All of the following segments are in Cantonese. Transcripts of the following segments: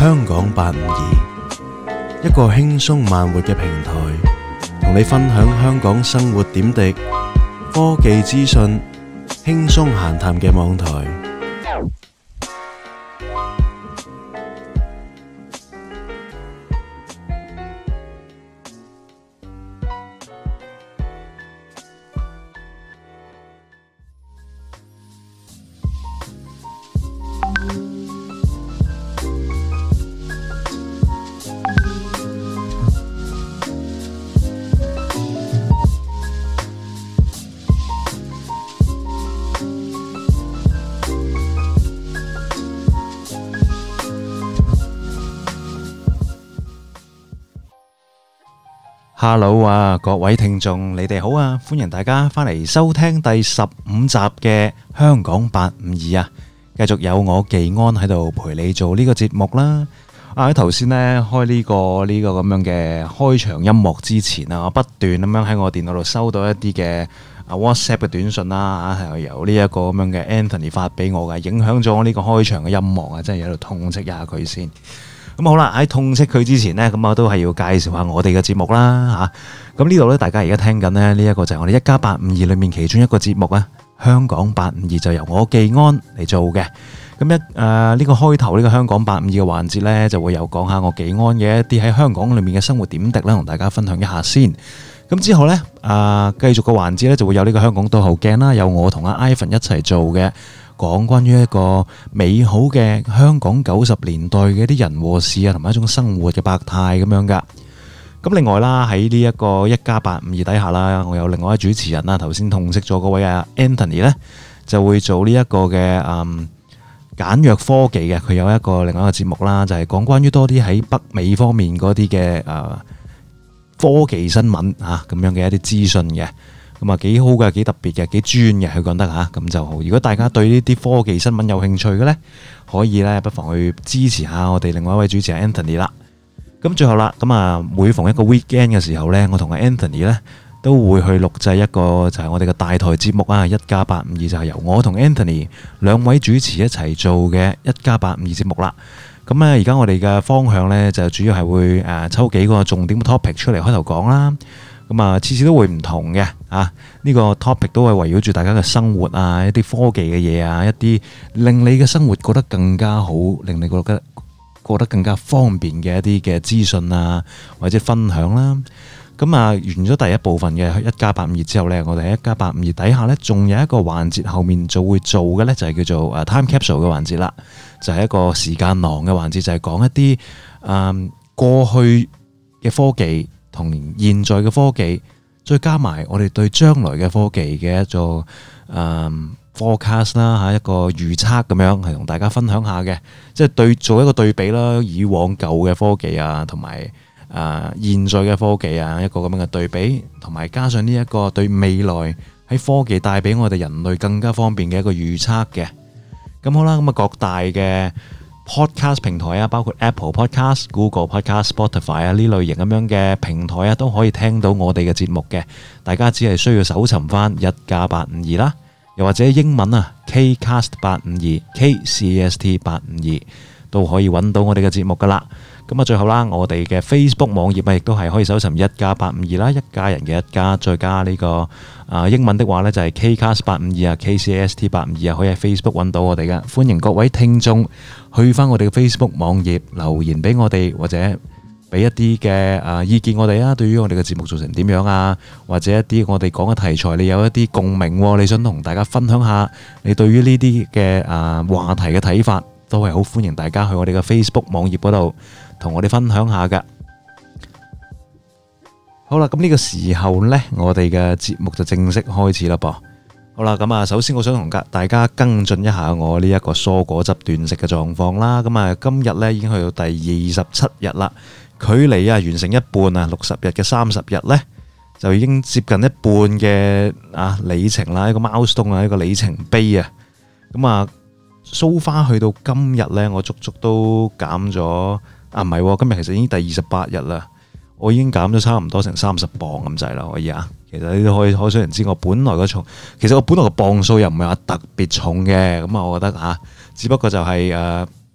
香港852，一個輕鬆慢活嘅平台，同你分享香港生活點滴、科技資訊、輕鬆閒談嘅網台。Hello 啊，各位聽眾，你哋好啊！歡迎大家翻嚟收聽第15集嘅香講852啊！繼續有我技安喺度陪你做呢個節目啦。喺頭先呢，開呢個咁樣嘅開場音樂之前啊，我不斷咁樣喺我電腦度收到一啲嘅WhatsApp 嘅短信啦，係由呢一個咁樣嘅 Anthony 發俾我嘅，影響咗我呢個開場嘅音樂啊，真係喺度痛斥一下佢先。咁好啦，喺痛斥佢之前呢，咁我都係要介紹下我哋嘅節目啦嚇。咁呢度呢，大家而家聽緊呢一個就係我哋一家852裏面其中一個節目啊，香講852就由我技安嚟做嘅。咁呢個開頭呢個香講852嘅環節呢，就會有講下我技安嘅一啲喺香港裏面嘅生活點滴啦，同大家分享一下先。咁之後呢，繼續個環節呢，就會有呢個香港倒後鏡啦，有我同阿 Ivan 一齊做嘅。講關於一個美好嘅香港90年代嘅一啲人和事啊，同埋一種生活嘅百態咁樣噶。咁另外啦，喺呢一個一家852底下啦，我有另外一位主持人啦，頭先痛斥咗嗰位啊 Anthony 呢，就會做呢一個嘅簡約科技嘅。佢有一個另外一個節目啦，就係講關於多啲喺北美方面嗰啲嘅科技新聞啊咁樣嘅一啲資訊嘅。咁啊幾好嘅，幾特別嘅，幾專嘅，佢講得嚇，咁就好。如果大家對呢啲科技新聞有興趣嘅呢，可以呢不妨去支持下我哋另外一位主持人 Anthony 啦。咁最後啦，咁啊每逢一個 weekend 嘅時候呢，我同阿 Anthony 呢都會去錄製一個就係我哋嘅大台節目啊，一家852就係由我同 Anthony 兩位主持一齊做嘅一家852節目啦。咁咧而家我哋嘅方向呢，就主要係會抽幾個重點 topic 出嚟開頭講啦。咁啊，次次都會唔同嘅呢個 topic 都係圍繞住大家嘅生活啊，一啲科技嘅嘢啊，一啲令你嘅生活覺得更加好，令你覺得更加方便嘅一啲嘅資訊啊，或者分享啦。咁啊，完咗第一部分嘅一家852之後呢，我哋喺一家852底下呢，仲有一個環節後面就會做嘅呢，就係叫做time capsule 嘅環節啦，就係一個時間囊嘅環節，就係講一啲過去嘅科技。同現在嘅科技，再加埋我哋對將來嘅科技嘅一個forecast 啦嚇，一個預測咁樣，係同大家分享下嘅，即係做一個對比啦，以往舊嘅科技啊，同埋現在嘅科技啊，一個咁樣嘅對比，同埋加上呢一個對未來喺科技帶俾我哋人類更加方便嘅一個預測嘅。咁好啦，咁啊各大嘅Podcast 平台啊，包括 Apple Podcast、Google Podcast、Spotify 啊呢類型咁樣嘅平台啊，都可以聽到我哋嘅節目嘅。大家只係需要搜尋翻一家852啦，又或者英文啊 Kcast 852、KCST 852都可以揾到我哋嘅節目噶啦。咁啊，最後啦，我哋嘅 Facebook 網頁啊，亦都係可以搜尋一家852啦，一家人嘅一家，再加呢個英文的話呢，就係 Kcast 852啊，KCST 852啊，可以喺 Facebook 揾到我哋嘅。歡迎各位聽眾去翻我哋嘅 Facebook 網頁留言俾我哋，或者俾一啲嘅意見我哋啊。對於我哋嘅節目做成點樣啊，或者一啲我哋講嘅題材，你有一啲共鳴，你想同大家分享下你對於呢啲嘅話題嘅睇法，都係好歡迎大家去我哋嘅 Facebook 網頁嗰度同我哋分享下噶。好啦，咁呢個時候呢，我哋嘅節目就正式開始啦噃。好啦，咁啊，首先我想同大家跟進一下我呢一個蔬果汁斷食嘅狀況啦。咁啊，今日呢已經去到第27日啦，距離完成一半啊，60日嘅30日呢，就已經接近一半嘅里程啦，一個 milestone啊，一個里程碑啊。咁啊，so far去到今日呢，我足足都減咗唔係，今日其實已經第28日啦，我已經減咗差唔多成30磅咁滯啦，可以啊。其實你都可想而知，我本來個重，其實我本來個磅數又唔係話特別重嘅，咁啊，我覺得只不過就係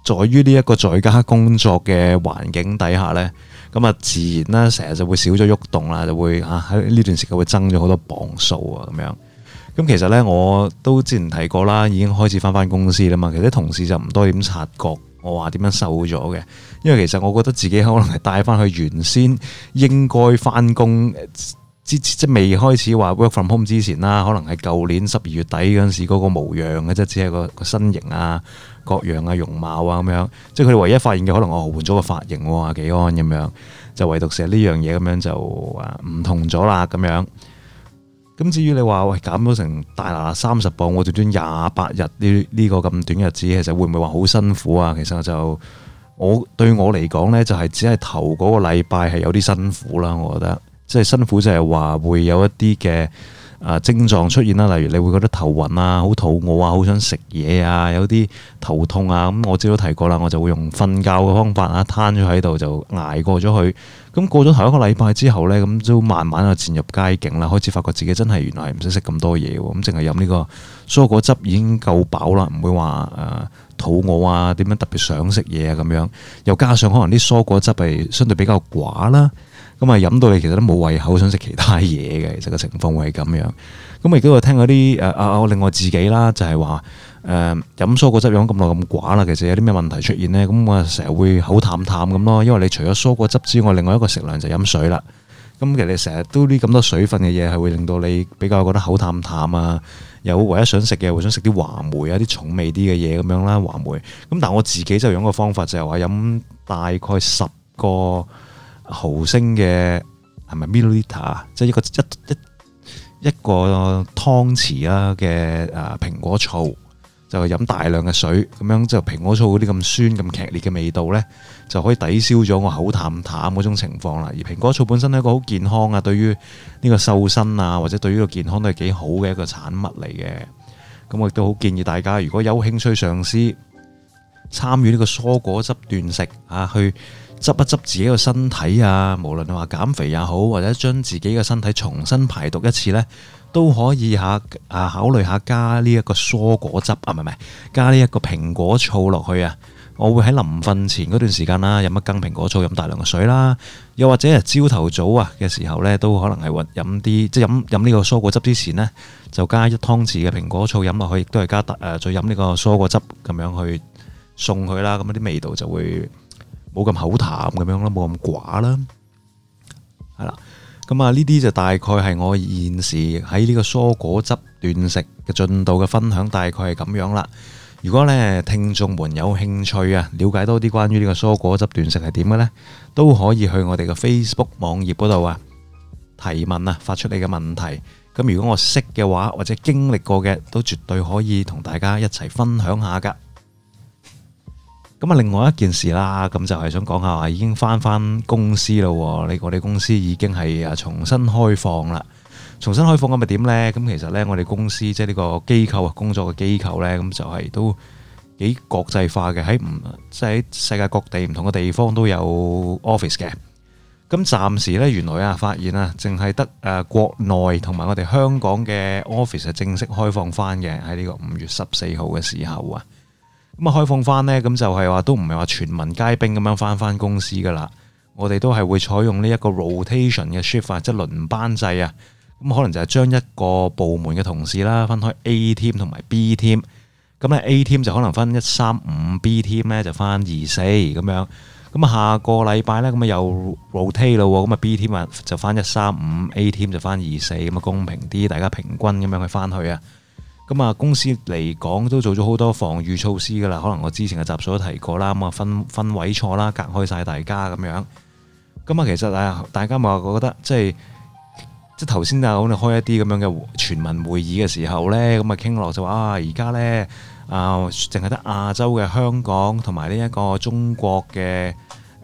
在於呢一個在家工作嘅環境底下呢，咁啊自然啦，成日就會少咗喐動啦，就會喺呢段時間會增咗好多磅數啊咁樣。咁其實呢，我都之前提過啦，已經開始翻公司啦嘛。其實啲同事就唔多點察覺我話點樣瘦咗嘅，因為其實我覺得自己可能係帶翻去原先應該翻工即未開始話 work from home 之前啦，可能係舊年12月底嗰陣時嗰個模樣嘅啫，只係個身形啊、各樣啊、容貌啊咁樣。即係佢哋唯一發現嘅可能我換咗個髮型喎，阿紀安咁樣，就唯獨成呢樣嘢咁樣就唔同咗啦咁樣。咁至於你話喂減咗成大30磅，我短短28日呢個咁短日子，其實會唔會話好辛苦啊？其實就對我嚟講呢，就係只係頭嗰個禮拜係有啲辛苦啦，我覺得。即係辛苦就係話會有一啲嘅症狀出現啦，例如你會覺得頭暈啊、好肚餓啊、好想食嘢啊、有啲頭痛啊。咁我之前都提過啦，我就會用瞓覺嘅方法啊，攤咗喺度就捱過咗去。咁過咗頭一個禮拜之後呢，咁都慢慢啊漸入佳境啦，開始發覺自己真係原來唔使食咁多嘢喎。咁淨係飲呢個蔬果汁已經夠飽啦，唔會話肚餓啊，點樣特別想食嘢啊咁樣。又加上可能啲蔬果汁係相對比較寡啦。咁啊，飲到你其實都冇胃口，想食其他嘢嘅，其實個情況會係咁樣。咁亦都有聽嗰啲我另外自己啦，就係話飲蔬果汁飲咁耐咁寡啦，其實有啲咩問題出現呢？咁我成日會口淡淡咁咯，因為你除咗蔬果汁之外，另外一個食糧就飲水啦。咁其實你成日都啲咁多水分嘅嘢，係會令到你比較覺得口淡淡啊。有唯一想食嘅，會想食啲話梅啊，啲重味啲嘅嘢咁樣啦，話梅。咁但係我自己就用個方法，就係話飲大概10個毫升嘅係咪 milliliter 啊？即係一個湯匙啦嘅蘋果醋，就飲大量嘅水，咁樣就蘋果醋嗰啲咁酸咁劇烈嘅味道呢，就可以抵消咗我口淡淡嗰種情況啦。而蘋果醋本身係一個好健康啊，對於呢個瘦身啊，或者對於個健康都係幾好嘅一個產物嚟嘅。咁我亦都好建議大家，如果有興趣嘗試參與呢個蔬果汁斷食去執一執自己個身體啊，無論你話減肥也好，或者將自己嘅身體重新排毒一次呢，都可以考慮下加呢一個蔬果汁唔係加呢一個蘋果醋落去啊。我會喺臨瞓前嗰段時間啦，飲一羹蘋果醋，飲大量嘅水啦，又或者係朝頭早嘅時候呢，都可能係飲啲即係飲呢個蔬果汁之前呢，就加1湯匙嘅蘋果醋飲落去，亦都係加再飲呢個蔬果汁咁樣去送佢啦。咁啲味道就會冇咁口淡咁樣啦，冇咁寡啦，係啦。咁呢啲就大概係我現時喺呢個蔬果汁斷食嘅進度嘅分享，大概係咁樣啦。如果咧聽眾們有興趣了解多啲關於呢個蔬果汁斷食係點嘅呢，都可以去我哋嘅 Facebook 網頁嗰度提問發出你嘅問題。咁如果我識嘅話，或者經歷過嘅，都絕對可以同大家一齊分享下噶。咁另外一件事啦，咁就係想講下已經翻公司啦。我哋公司已經係重新開放啦。重新開放咁咪點呢？咁其實呢，我哋公司即係呢個機構工作嘅機構呢，咁就係都幾國際化嘅，即係喺世界各地唔同嘅地方都有 office 嘅。咁暫時呢，原來發現淨係得國內同埋我哋香港嘅 office 係正式開放翻嘅，喺呢個5月14號嘅時候啊。咁開放翻呢，咁就係話都唔係話全民皆兵咁樣翻公司噶啦。我哋都係會採用呢一個 rotation 嘅 shift 即係輪班制啊。咁可能就係將一個部門嘅同事啦，分開 A team 同埋 B team。咁咧 A team 就可能分135，B team 咧就翻24咁樣。咁下個禮拜咧咁又 rotate 咯，咁B team 就翻135，A team 就翻24，咁公平啲，大家平均咁樣去翻去啊。咁公司嚟講都做咗好多防禦措施噶啦，可能我之前嘅集數都提過啦。咁分位錯啦，隔開晒大家咁樣。咁其實大家咪話覺得即係頭先我哋開一啲咁樣嘅全民會議嘅時候呢，咁傾落就話而家呢淨係得亞洲嘅香港同埋呢一個中國嘅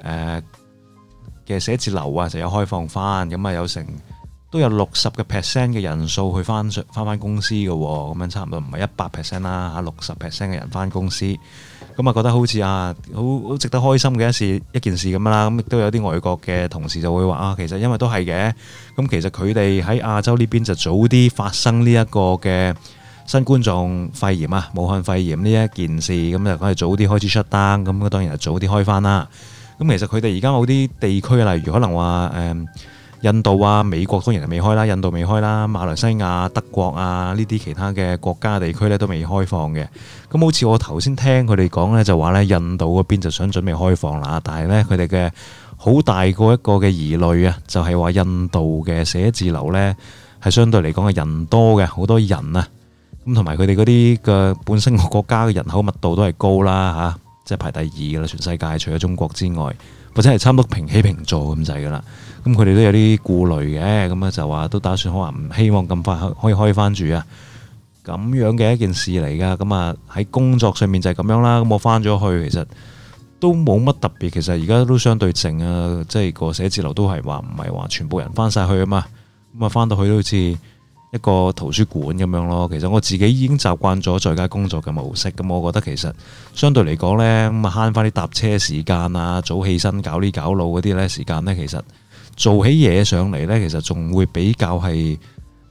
寫字樓就有開放翻，咁有成都有60% 嘅人數去翻公司嘅，咁樣差唔多唔係100% 啦，60% 嘅人翻公司。咁覺得好似好值得開心嘅一件事咁啦。咁亦都有啲外國嘅同事就會話其實因為都係嘅。咁其實佢哋喺亞洲呢邊就早啲發生呢一個嘅新冠狀肺炎啊，武漢肺炎呢一件事，咁就梗係早啲開始 shut down，咁當然係早啲開翻啦。咁其實佢哋而家某啲地區，例如可能話印度啊、美國當然係未開啦，印度未開啦，馬來西亞、德國啊呢啲其他嘅國家地區咧都未開放嘅。咁好似我頭先聽佢哋講咧，就話咧印度嗰邊就想準備開放啦，但係咧佢哋嘅好大個一個嘅疑慮啊，就係話印度嘅寫字樓咧係相對嚟講係人多嘅，好多人啊，咁同埋佢哋嗰啲嘅本身個國家嘅人口密度都係高啦嚇，即係排第2噶啦，全世界除咗中國之外，或者係差唔多平起平坐咁滯噶啦。咁佢哋都有啲顧慮嘅，咁啊就話都打算可能唔希望咁快可以開翻住啊，咁樣嘅一件事嚟噶。咁啊喺工作上面就係咁樣啦。咁我翻咗去，其實都冇乜特別。其實而家都相對靜啊，即係個寫字樓都係話唔係話全部人翻晒去啊嘛。咁啊翻到去都好似一個圖書館咁樣咯。其實我自己已經習慣咗在家工作嘅模式，咁我覺得其實相對嚟講呢，咁啊慳翻啲搭車時間啊，早起身搞呢搞路嗰啲呢時間呢，其實做起嘢上嚟呢，其實仲會比較係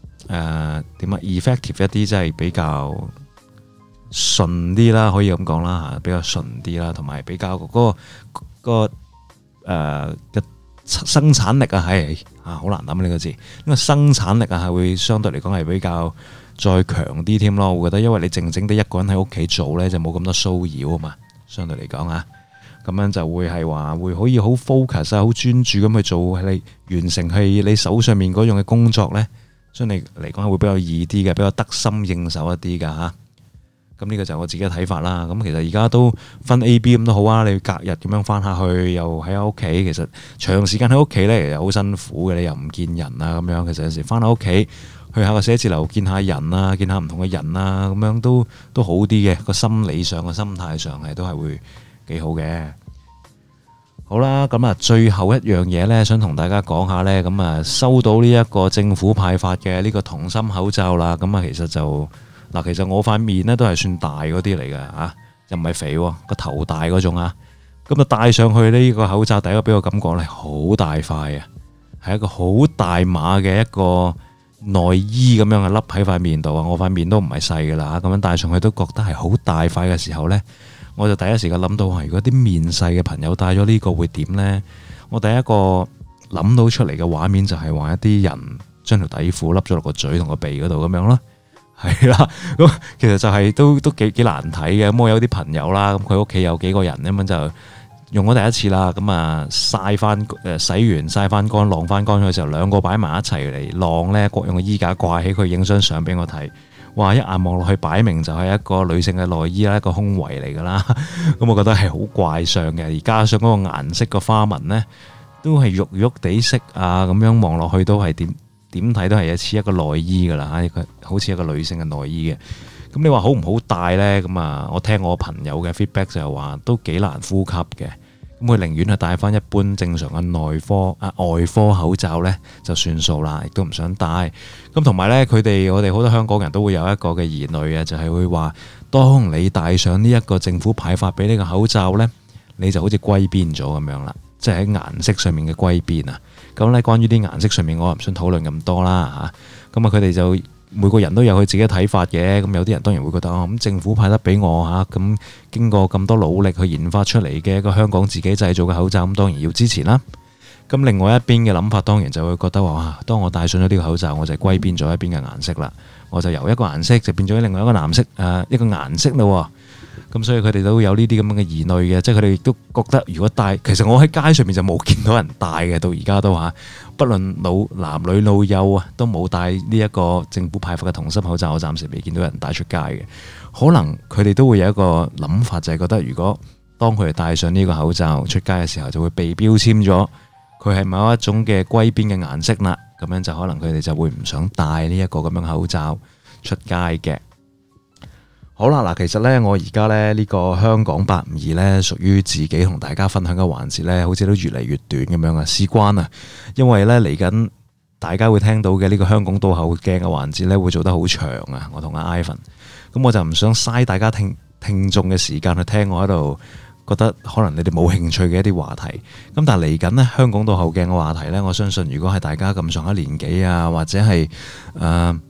effective 一啲，即係比較順啲啦，可以咁講啦嚇，比較順啲啦，同埋比較嗰個嘅生產力啊，係好難諗呢個字，因為生產力啊係會相對嚟講係比較再強啲添咯。我覺得因為你靜靜地一個人喺屋企做呢，就冇咁多騷擾啊嘛，相對嚟講啊。咁樣就會係話會可以好 focus 啊，好專注咁去做你完成係你手上面嗰樣嘅工作呢，相對嚟講係會比較易啲嘅，比較得心應手一啲㗎嚇。咁呢個就係我自己嘅睇法啦。咁其實而家都分 A、B 咁都好啊。你隔日咁樣翻下去，又喺屋企，其實長時間喺屋企呢，其實好辛苦嘅。你又唔見人啊咁樣，其實有時翻到屋企去下個寫字樓見下人啊，見下唔同嘅人啊，咁樣都好啲嘅。個心理上、個心態上係都係會幾好嘅。好啦，咁啊，最後一樣嘢呢，想同大家講下呢。咁啊，收到呢一個政府派發嘅呢個銅芯口罩啦。咁啊，其實我塊面呢都係算大嗰啲嚟嘅嚇，又唔係肥喎，個頭大嗰種啊。咁啊，戴上去呢個口罩，第一個俾我感覺呢，好大塊啊，係一個好大碼嘅一個內衣咁樣嘅笠喺塊面度啊。我塊面都唔係細㗎啦，咁樣戴上去都覺得係好大塊嘅時候呢，我就第一時間諗到如果啲面細嘅朋友戴咗呢個會點呢？我第一個諗到出嚟嘅畫面就係話一啲人將條底褲笠咗落個嘴同個鼻嗰度咁樣咯，係啦。咁其實就係都幾難睇嘅。咁我有啲朋友啦，咁佢屋企有幾個人咁樣就用咗第一次啦。咁啊曬翻洗完曬翻乾晾翻乾嘅時候，兩個擺埋一齊嚟晾呢，各用個衣架掛起佢影張相俾我睇。哇！一眼望落去，擺明就係一個女性嘅內衣啦，一個胸圍嚟㗎啦。咁我覺得係好怪相嘅，而加上嗰個顏色個花紋呢，都係肉肉地色啊，咁樣望落去都係點睇都係似一個內衣㗎啦，好似一個女性嘅內衣嘅。咁你話好唔好戴呢？咁啊，我聽我朋友嘅 feedback 就係話都幾難呼吸嘅。咁佢寧願係戴翻一般正常嘅外科口罩呢，就算數啦，亦都唔想戴。咁同埋呢，我哋好多香港人都會有一個嘅疑慮嘅，就係會話，當你戴上呢一個政府派發俾呢個口罩呢，你就好似歸邊咗咁樣啦，即係喺顏色上面嘅歸邊啊。咁呢，關於啲顏色上面，我唔想討論咁多啦嚇。咁啊，佢哋就每個人都有佢自己嘅睇法嘅。咁有啲人當然會覺得咁政府派得俾我嚇，咁經過咁多努力去研發出嚟嘅一個香港自己製造嘅口罩，咁當然要支持啦。咁另外一邊嘅諗法當然就會覺得話，當我戴上咗呢個口罩，我就歸邊咗一邊嘅顏色啦，我就由一個顏色就變咗另外一個顏色一個顏色咯。咁所以佢哋都有呢啲咁樣嘅疑慮嘅，即係佢哋亦都覺得如果戴，其實我喺街上面就冇見到人戴嘅，到而家都嚇，不論男女老幼啊，都冇戴呢一個政府派發嘅銅芯口罩，我暫時未見到人戴出街嘅。可能佢哋都會有一個諗法，就係覺得如果當佢哋戴上呢個口罩出街嘅時候，就會被標籤咗佢係某一種嘅歸邊嘅顏色啦，咁樣就可能佢哋就會唔想戴呢一個咁樣口罩出街嘅。好啦，嗱，其實呢，我而家呢個香講852呢，屬於自己同大家分享嘅環節呢，好似都越嚟越短咁樣啊，事關啊，因為呢嚟緊大家會聽到嘅呢個香港倒後鏡嘅環節呢，會做得好長啊，我同阿 Ivan，咁我就唔想嘥大家聽眾嘅時間去聽我喺度覺得可能你哋冇興趣嘅一啲話題。咁但係嚟緊呢，香港倒後鏡嘅話題呢，我相信如果係大家咁上下年紀啊，或者係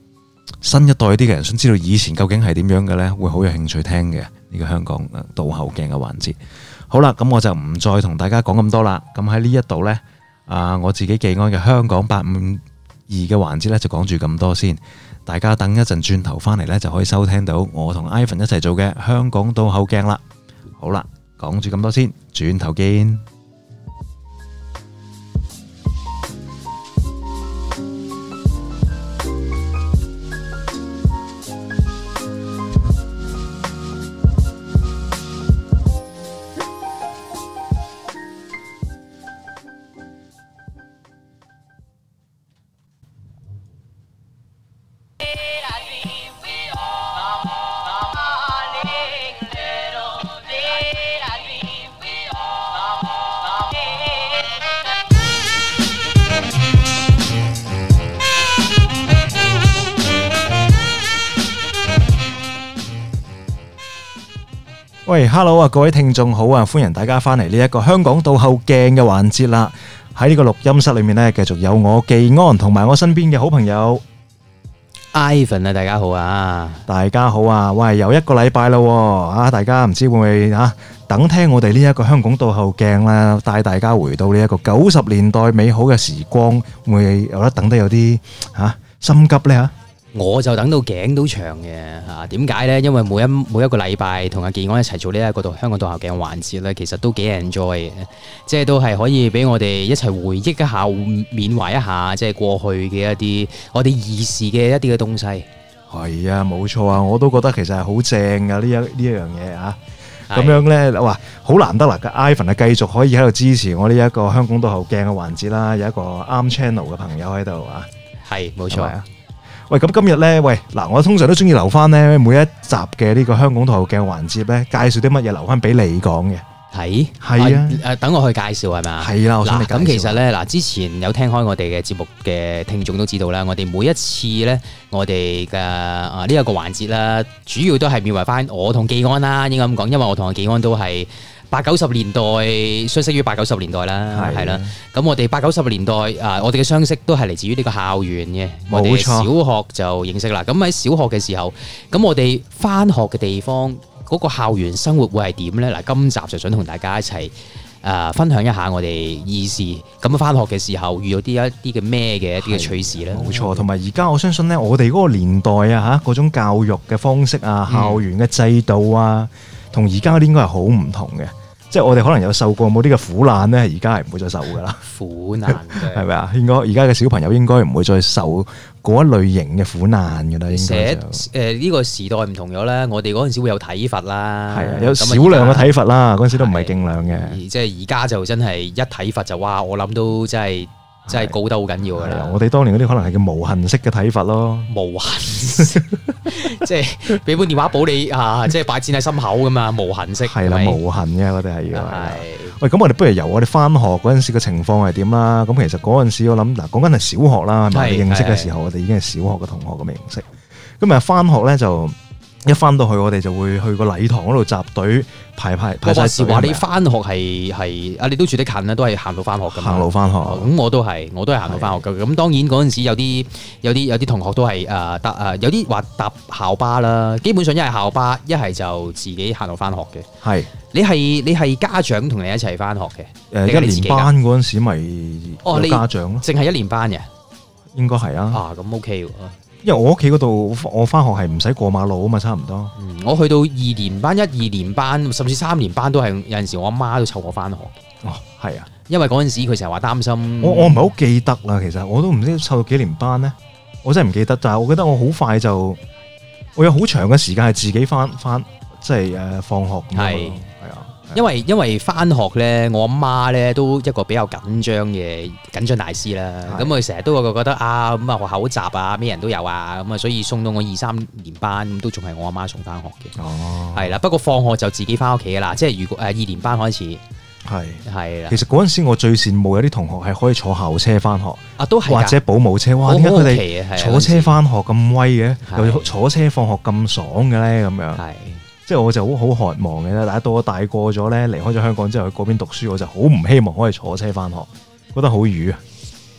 新一代啲嘅人想知道以前究竟係點樣嘅呢，會好有興趣聽嘅呢個香港倒後鏡嘅環節。好啦，咁我就唔再同大家講咁多啦。咁喺呢一度呢，我自己技安嘅香講852嘅環節呢，就講住咁多先。大家等一陣轉頭翻嚟呢，就可以收聽到我同 Ivan 一齊做嘅香港倒後鏡啦。好啦，講住咁多先，轉頭見。喂 ，Hello 啊，各位聽眾好啊，歡迎大家翻嚟呢一個香港倒後鏡嘅環節啦。喺呢個錄音室裏面呢，繼續有我技安同埋我身邊嘅好朋友 Ivan 啊，大家好啊， 大家好啊。喂，又一個禮拜咯，啊，大家唔知會唔會等聽我哋呢一個香港倒後鏡啦，帶大家回到呢一個90年代美好嘅時光，會唔會有得等得有啲心急呢？ 我就等到頸都長嘅嚇，點解呢？因為每一個禮拜同阿技安一齊做呢一個香港倒後鏡嘅環節咧，其實都幾 enjoy 嘅，即係都係可以俾我哋一齊回憶一下、緬懷一下，即係過去嘅一啲我哋兒時嘅一啲嘅東西。係啊，冇錯啊，我都覺得其實係好正噶呢一樣嘢啊！咁樣呢，哇，好難得啦！Ivan 繼續可以喺度支持我呢一個香港倒後鏡嘅環節啦，有一個啱 channel 嘅朋友喺度啊， 係冇錯。 喂，咁今日呢，我通常都中意留翻呢每一集嘅呢個香港倒後鏡環節呢，介紹啲乜嘢留翻俾你講嘅。係啊， 等我去介紹係咪？係啦，我想你介紹。 咁其實呢，之前有聽開我哋嘅節目嘅聽眾都知道啦，我哋每一次呢，我哋嘅呢一個環節啦，主要都係緬懷翻我同技安啦，應該咁講，因為我同阿技安都係80-90年代，相識於80-90年代啦，係啦。咁我哋80-90年代我哋嘅相識都係嚟自於呢個校園嘅。我哋小學就認識啦。咁喺小學嘅時候，咁我哋翻學嘅地方嗰個校園生活會係點呢？嗱，今集就想同大家一齊分享一下我哋兒時咁翻學嘅時候遇到一啲嘅咩嘅一啲嘅趣事啦。 冇錯，同埋而家我相信呢，我哋嗰個年代嗰種教育嘅方式啊，校園嘅制度啊，同而家嗰啲應該係好唔同嘅。即係我哋可能有受過冇啲嘅苦難咧，而家係唔會再受噶啦。 苦難係咪啊？應該而家嘅小朋友應該唔會再受嗰一類型嘅苦難噶啦。應該呢個時代唔同咗啦。我哋嗰陣時會有體罰啦， 係啊，有少量嘅體罰啦。嗰陣時都唔係勁量嘅。 即係而家就真係一體罰就哇！我諗都真係高得好緊要㗎啦！ 我哋當年嗰啲可能係叫無痕式嘅體罰咯， 無痕，即係俾本電話簿你即係擺錢喺心口㗎嘛，無痕式係啦，無痕嘅我哋係要。 係喂，咁我哋不如由我哋翻學嗰陣時嘅情況係點啦？咁其實嗰陣時我諗嗱，講緊係小學啦，係咪？認識嘅時候，我哋已經係小學嘅同學咁嘅認識。咁啊，翻學咧就一翻到去，我哋就會去個禮堂嗰度集隊排晒隊。 話你翻學係你都住得近啦，都係行路翻學㗎嘛。 行路翻學， 咁我都係行路翻學㗎。咁當然嗰陣時有啲同學都係有啲話搭校巴啦。基本上一係校巴，一係就自己行路翻學嘅。係你係家長同你一齊翻學嘅？ 一年班嗰陣時咪有家長咯。 淨係一年班嘅， 應該係啊。 咁 OK 喎。 因為我屋企嗰度，我翻學係唔使過馬路啊嘛，差唔多。 我去到2年班、1、2年班，甚至3年班都係有陣時，我阿媽都湊我翻學。 哦，係啊， 因為嗰陣時佢成日話擔心。我唔係好記得啦，其實我都唔知湊到幾年班咧，我真係唔記得。但係我記得我好快就，我有好長嘅時間係自己翻，即係放學咁樣。係啊。 因為翻學咧，我阿媽咧都一個比較緊張大師啦。咁佢成日都會覺得咁學校好雜啊，咩人都有啊，咁啊，所以送到我2、3年班咁都仲係我阿媽送翻學嘅。哦，係啦，不過放學就自己翻屋企噶啦。即係如果2年班開始，係啦。其實嗰陣時我最羨慕有啲同學係可以坐校車翻學都係或者保姆車。哇，點解佢哋坐車翻學咁威嘅？又坐車放學咁爽嘅咧？咁樣係。即係我就好渴望嘅啦，但係到我大個咗咧，離開咗香港之後去嗰邊讀書，我就好唔希望可以坐車翻學，覺得好瘀啊！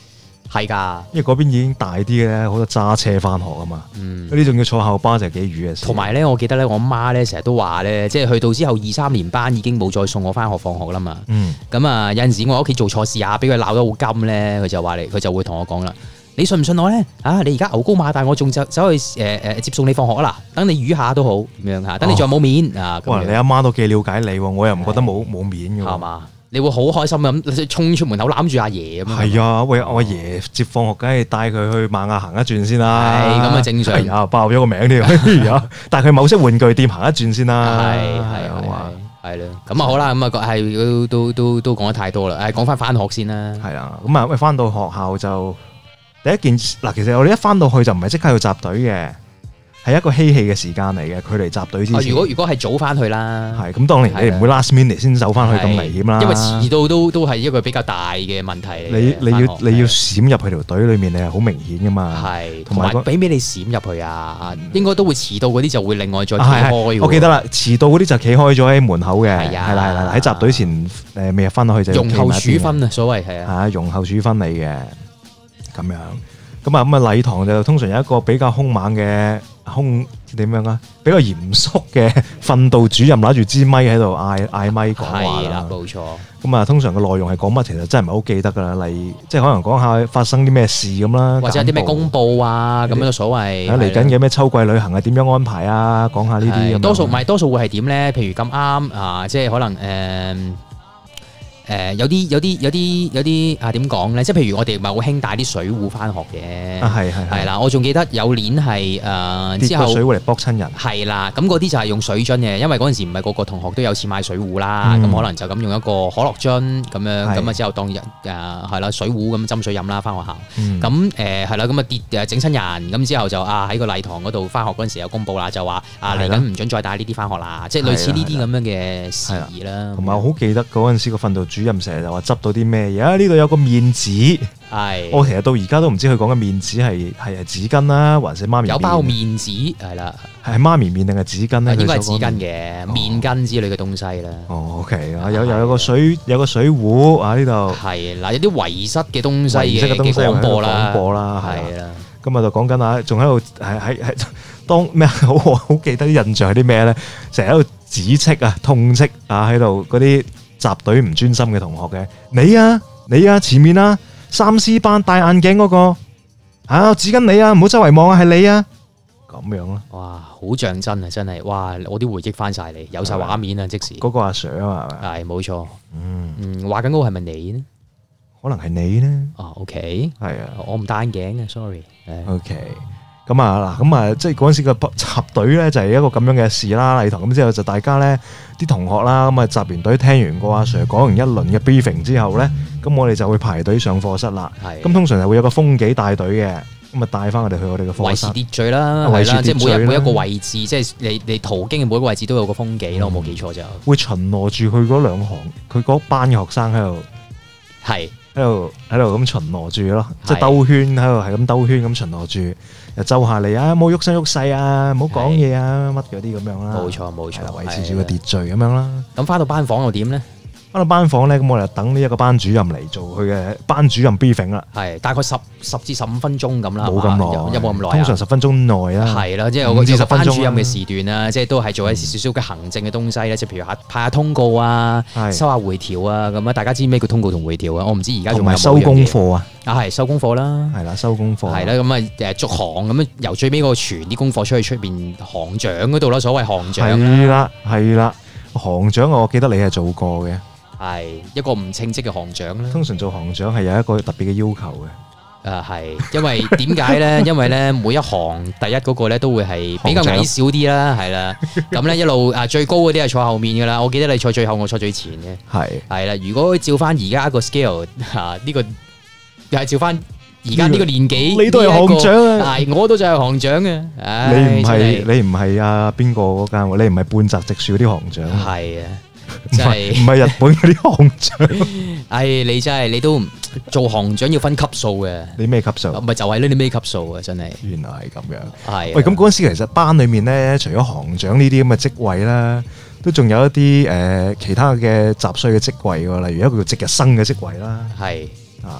係㗎， 因為嗰邊已經大啲嘅咧，好多揸車翻學啊嘛。嗰啲仲要坐校巴就係幾瘀嘅事。 同埋咧，我記得咧，我媽咧成日都話咧，即係去到之後2、3年班已經冇再送我翻學放學啦嘛。咁啊，有陣時我喺屋企做錯事啊，俾佢鬧得好金咧，佢就會同我講啦。你信唔信我咧？你而家牛高馬大，我仲走去接送你放學啦。等你瘀下都好咁樣嚇，等你仲有冇面啊？ 哇！你阿媽都幾了解你喎，我又唔覺得冇面嘅喎。 係嘛？你會好開心咁衝出門口攬住阿爺咁樣。係啊，喂，我阿爺接放學，梗係帶佢去瑪雅行一轉先啦。 係咁啊，正常。 係啊，爆咗個名添。帶佢某些玩具店行一轉先啦。 係啦。咁啊好啦，咁啊係都講得太多啦。講翻學先啦。 係啦，咁啊喂，翻到學校就第一件嗱，其實我哋一翻到去就唔係即刻要集隊嘅。係一個嬉戲嘅時間嚟嘅，距離集隊之前。 如果係早翻去啦， 係咁當然你唔會 last minute 先走翻去咁危險啦。 因為遲到都係一個比較大嘅問題嚟。 你要閃入去條隊裏面，你係好明顯噶嘛。係，同埋俾你閃入去啊，應該都會遲到嗰啲就會另外再企開。 我記得啦，遲到嗰啲就企開咗喺門口嘅。係啦，喺集隊前未入翻落去就容後處分啊，所謂係啊。 係容後處分你嘅咁樣。咁啊禮堂就通常有一個比較兇猛嘅點樣啊？比較嚴肅嘅訓導主任攞住支咪喺度嗌咪講話啦。係啦， 冇錯。 咁啊，通常嘅內容係講乜？其實真係唔係好記得㗎啦。例如即係可能講下發生啲咩事咁啦， 或者有啲咩公佈啊咁樣嘅所謂。 嚟緊嘅咩秋季旅行係點樣安排啊？講下呢啲咁。 多數會係點咧？譬如咁啱啊，即係可能有啲點講咧？即係譬如我哋咪好興帶啲水壺翻學嘅，係啦。我仲記得有年係之後水壺嚟卜親人， 係啦。咁嗰啲就係用水樽嘅，因為嗰陣時唔係個個同學都有錢買水壺啦。咁可能就咁用一個可樂樽咁樣，咁啊之後當係啦水壺咁斟水飲啦，翻學校。咁係啦，咁啊跌整親人，咁之後就喺個禮堂嗰度翻學嗰陣時有公佈啦，就話嚟緊唔准再帶呢啲翻學啦，即係類似呢啲咁樣嘅事宜啦。同埋我好記得嗰陣時個訓導主任成日就話執到啲咩嘢啊？呢度有個面紙，我其實到而家都唔知佢講嘅面紙係紙巾啦，還是媽咪麵？有包面紙係啦，係媽咪麵定係紙巾咧？ 應該係紙巾嘅面巾之類嘅東西啦。 OK 有個水壺啊，呢度係啦，有啲遺失嘅東西嘅廣播啦，係啦。 今日就講緊啊，仲喺度係當咩好記得啲印象係啲咩咧？成日喺度指斥啊、痛斥啊，喺度嗰啲集隊唔專心嘅同學嘅，你啊前面啊3C 班戴眼鏡嗰個指緊你啊，唔好周圍望啊，係你啊，咁樣咯。哇， 好像真啊，真係，哇，我啲回憶翻晒嚟，有晒畫面啊，即時。 嗰個阿 Sir 啊嘛， 係冇錯。話緊嗰個係咪你呢？ 可能係你呢 ？OK，係啊，我唔戴眼鏡嘅，sorry。 OK。咁啊，即係嗰陣時個集隊咧就係一個咁樣嘅事啦。禮堂咁之後就大家咧啲同學啦，咁啊集完隊聽完個阿 Sir 講完一輪嘅 briefing 之後咧，咁我哋就會排隊上課室啦。咁通常係會有個風紀帶隊嘅，咁啊帶翻我哋去我哋嘅課室。維持秩序啦，係啦，即係每一個位置，即係你途經嘅每一個位置都有個風紀咯，我冇記錯就。會巡邏住佢嗰兩行，佢嗰班嘅學生喺度，係喺度咁巡邏住咯，即係兜圈喺度，係咁兜圈咁巡邏住。就周下嚟啊！冇喐身喐勢啊！唔好講嘢啊！乜嗰啲咁樣啦。冇錯，維持住個秩序咁樣啦。咁翻到班房又點咧？翻到班房咧，咁我哋等呢一個班主任嚟做佢嘅班主任 briefing 啦。係大概10至15分鐘咁啦。冇咁耐，有冇咁耐？通常10分鐘內啦。係啦，即係有個班主任嘅時段啦，即係都係做一少少嘅行政嘅東西咧，即係譬如派下通告啊，收下回條啊，咁啊，大家知咩叫通告同回條啊？我唔知而家仲有冇。同埋收功課啊！係收功課啦，係啦，收功課係啦，咁啊逐行咁樣由最尾嗰個傳啲功課出去出邊行長嗰度啦，所謂行長係啦，行長我記得你係做過嘅，係一個唔稱職嘅行長啦。通常做行長係有一個特別嘅要求嘅，係因為點解咧？因為咧每一行第一嗰個咧都會係比較矮小啲啦，係啦，咁咧一路最高嗰啲係坐後面噶啦，我記得你坐最後，我坐最前嘅，係啦。如果照翻而家個 scale 呢個。又係照翻而家呢個年紀，你都係行長啊！我都就係行長嘅。你唔係啊？邊個嗰間？你唔係半澤直樹嗰啲行長？係啊，真係唔係日本嗰啲行長。你真係你都做行長要分級數嘅。你咩級數？唔係就係呢啲咩級數啊！真係。原來係咁樣。係。喂，咁嗰陣時其實班裡面咧，除咗行長呢啲咁嘅職位啦，都仲有一啲其他嘅雜碎嘅職位喎，例如一個叫值日生嘅職位啦。係啊。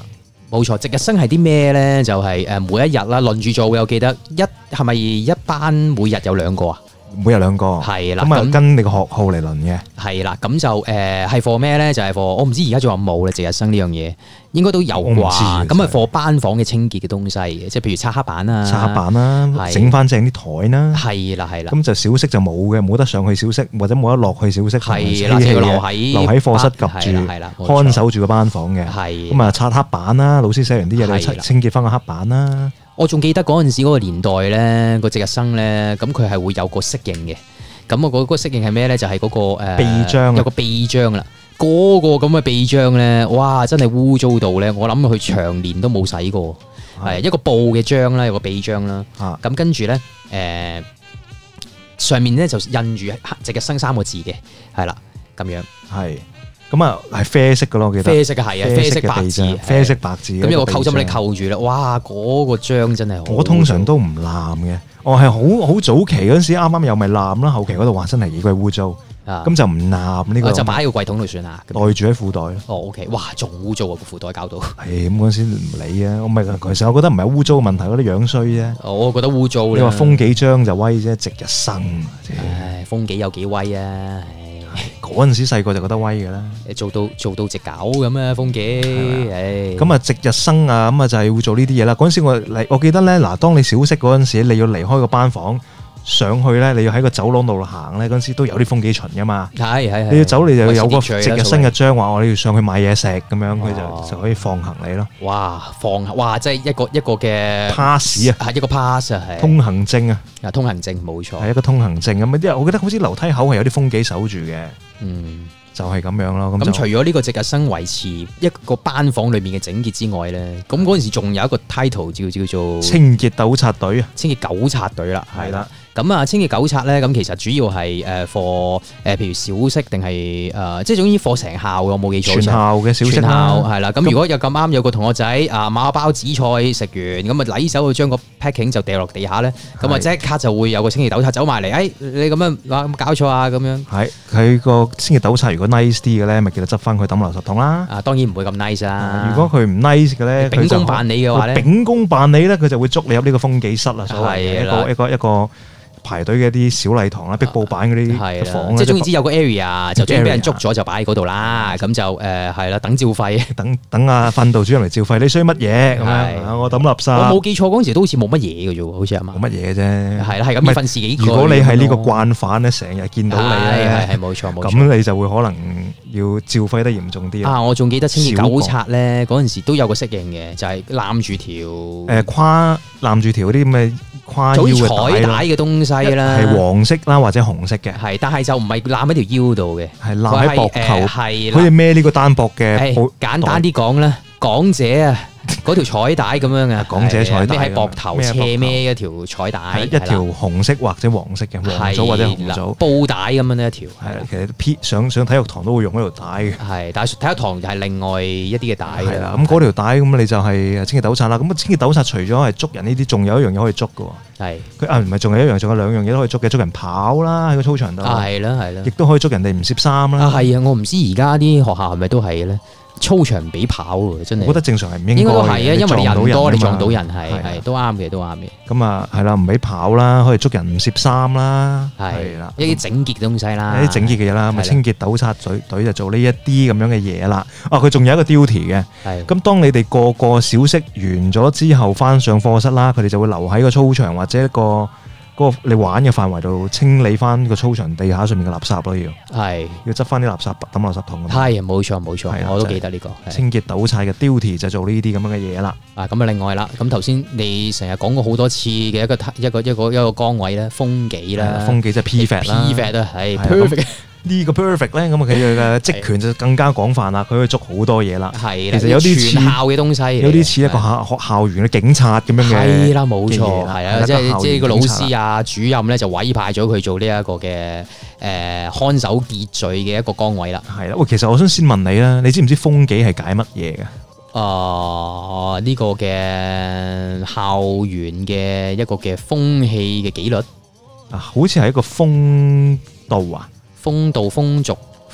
冇錯，值日生係啲咩咧？就係每一日啦，輪住做。我記得係咪一班每日有2個啊？ 每日2個， 係啦， 咁啊跟你個學號嚟輪嘅， 係啦，咁就係課咩咧？就係課我唔知而家仲有冇咧，值日生呢樣嘢應該都有啩。咁啊課班房嘅清潔嘅東西嘅，即係譬如擦黑板啊， 擦黑板啦，整翻正啲台啦， 係啦。 咁就小息就冇嘅，冇得上去小息或者冇得落去小息， 係啦，就要留喺課室及住，看守住個班房嘅。係咁啊，擦黑板啦，老師寫完啲嘢你清潔翻個黑板啦。我仲記得嗰陣時嗰個年代咧，個值日生咧，咁佢係會有個適應嘅。咁我嗰個適應係咩咧？就係嗰個臂章， 有個臂章啦。嗰個咁嘅臂章咧，哇！真係污糟到咧，我諗佢長年都冇洗過。係一個布嘅章啦，有個臂章啦。咁跟住咧，上面咧就印住值日生3個字嘅，係啦，咁樣。 係。咁啊，係啡色嘅咯，我記得。 啡色嘅係啊，啡色白字， 啡色白字。 咁有個扣針你扣住啦，哇！嗰個章真係好。 我通常都唔攬嘅，我係好早期嗰陣時啱啱有咪攬啦，後期嗰度話真係幾鬼污糟，咁就唔攬呢個。就擺喺個櫃桶度算啦，袋住喺褲袋咯。哦 ，OK， 哇，仲污糟啊個褲袋搞到。係咁嗰陣時唔理啊，我唔係，其實我覺得唔係污糟嘅問題，嗰啲樣衰啫。我覺得污糟。你話封幾張就威啫，值日生。 唉，封幾有幾威啊！ 嗰陣時細個就覺得威嘅啦， 做到隻狗咁啊，風紀， 咁啊值日生啊，咁啊就係會做呢啲嘢啦。嗰陣時我記得咧，嗱，當你小息嗰陣時，你要離開個班房上去咧，你要喺個走廊度行咧，嗰陣時都有啲風紀巡噶嘛。係，你要走你就有個值日生嘅章話，我哋要上去買嘢食咁樣，佢就可以放行你咯。 哇，即係一個嘅 pass 啊， 一個 pass 啊，係通行證啊。 通行證冇錯， 係一個通行證咁啊！啲我記得好似樓梯口係有啲風紀守住嘅，就係咁樣咯。 咁除咗呢個值日生維持一個班房裏面嘅整潔之外咧，咁嗰陣時仲有一個 title 叫做清潔糾察隊啊， 清潔糾察隊啦，係啦。咁啊，清潔糾察咧，咁其實主要係課譬如小息定係即係總之課成校，我冇記錯。全校嘅小息啦，係啦。咁如果有咁啱有個同學仔買個包紫菜食完，咁啊禮手去將個 packing 就掉落地下咧，咁啊即刻就會有個清潔糾察走埋嚟，你咁樣話搞錯啊咁樣。係佢個清潔糾察如果 nice 啲嘅咧，咪記得執翻佢抌垃圾桶啦。當然唔會咁 nice 啦。如果佢唔 nice 嘅咧，秉公辦理嘅話咧，秉公辦理咧，佢就會捉你入呢個風紀室啦。所謂一個排隊嘅一啲小禮堂啦，壁布板嗰啲房， 即係總言之有個 area 就將俾人捉咗就擺喺嗰度啦，咁就係啦，等照肺， 等阿訓導主任嚟照肺，你需要乜嘢咁樣？我抌垃圾。我冇記錯嗰陣時都好似冇乜嘢嘅啫喎，好似係嘛？ 冇乜嘢啫。係啦，係咁要訓示幾個。 如果你係呢個慣犯咧，成日見到你咧， 係冇錯冇錯， 咁你就會可能要照肺得嚴重啲。 我仲記得清潔糾察咧嗰陣時都有個適應嘅，就係攬住條攬住條啲咁嘅跨腰嘅彩帶嘅東西啦， 係黃色啦或者紅色嘅， 係，但係就唔係攬喺條腰度嘅，係攬喺膊頭， 係好似孭呢個單膊嘅。 簡單啲講啦，港姐啊，嗰條彩帶咁樣啊， 港姐彩帶孭喺膊頭斜孭一條彩帶， 一條紅色或者黃色嘅黃組或者紅組布帶咁樣呢一條。 係其實上體育堂都會用嗰條帶嘅。係， 但係體育堂就係另外一啲嘅帶。 係啦，咁嗰條帶咁你就係清潔糾察啦。咁清潔糾察除咗係捉人呢啲，仲有一樣嘢可以捉嘅喎。係，佢唔係仲有一樣，仲有兩樣嘢都可以捉嘅，捉人跑啦喺個操場度。係啦係啦，亦都可以捉人哋唔攝衫啦。係啊，我唔知而家啲學校係咪都係咧？操場唔俾跑喎，真係。我覺得正常係唔應該。應該都係啊，因為你人多，你撞到人係都啱嘅，都啱嘅。咁啊，係啦，唔俾跑啦，可以捉人唔攝衫啦，係啦，一啲整潔嘅東西啦，一啲整潔嘅嘢啦，咪清潔糾察隊就做呢一啲咁樣嘅嘢啦。佢仲有一個 duty 嘅。係。咁當你哋個小息完咗之後，翻上課室啦，佢哋就會留喺個操場或者一個你玩嘅範圍度清理翻個操場地下上面嘅垃圾咯，要執翻啲垃圾抌垃圾桶。係，冇錯冇錯，我都記得呢個清潔糾察嘅 duty 就做呢啲咁樣嘅嘢啦。咁啊另外啦，咁頭先你成日講過好多次嘅一個崗位咧，風紀啦，風紀即係 prefect 啦，prefect 啊，係 perfect。呢個 perfect 咧，咁佢嘅職權就更加廣泛啦，佢可以捉好多嘢啦。係，其實有啲全校嘅東西，有啲似一個學校園嘅警察咁樣嘅。係啦，冇錯，係啊，即係個老師啊、主任咧就委派咗佢做呢一個嘅看守秩序嘅一個崗位啦。係啦，喂，其實我想先問你啦，你知唔知風紀係解乜嘢嘅？呢個嘅校園嘅一個嘅風氣嘅紀律啊，好似係一個風度啊。風度風俗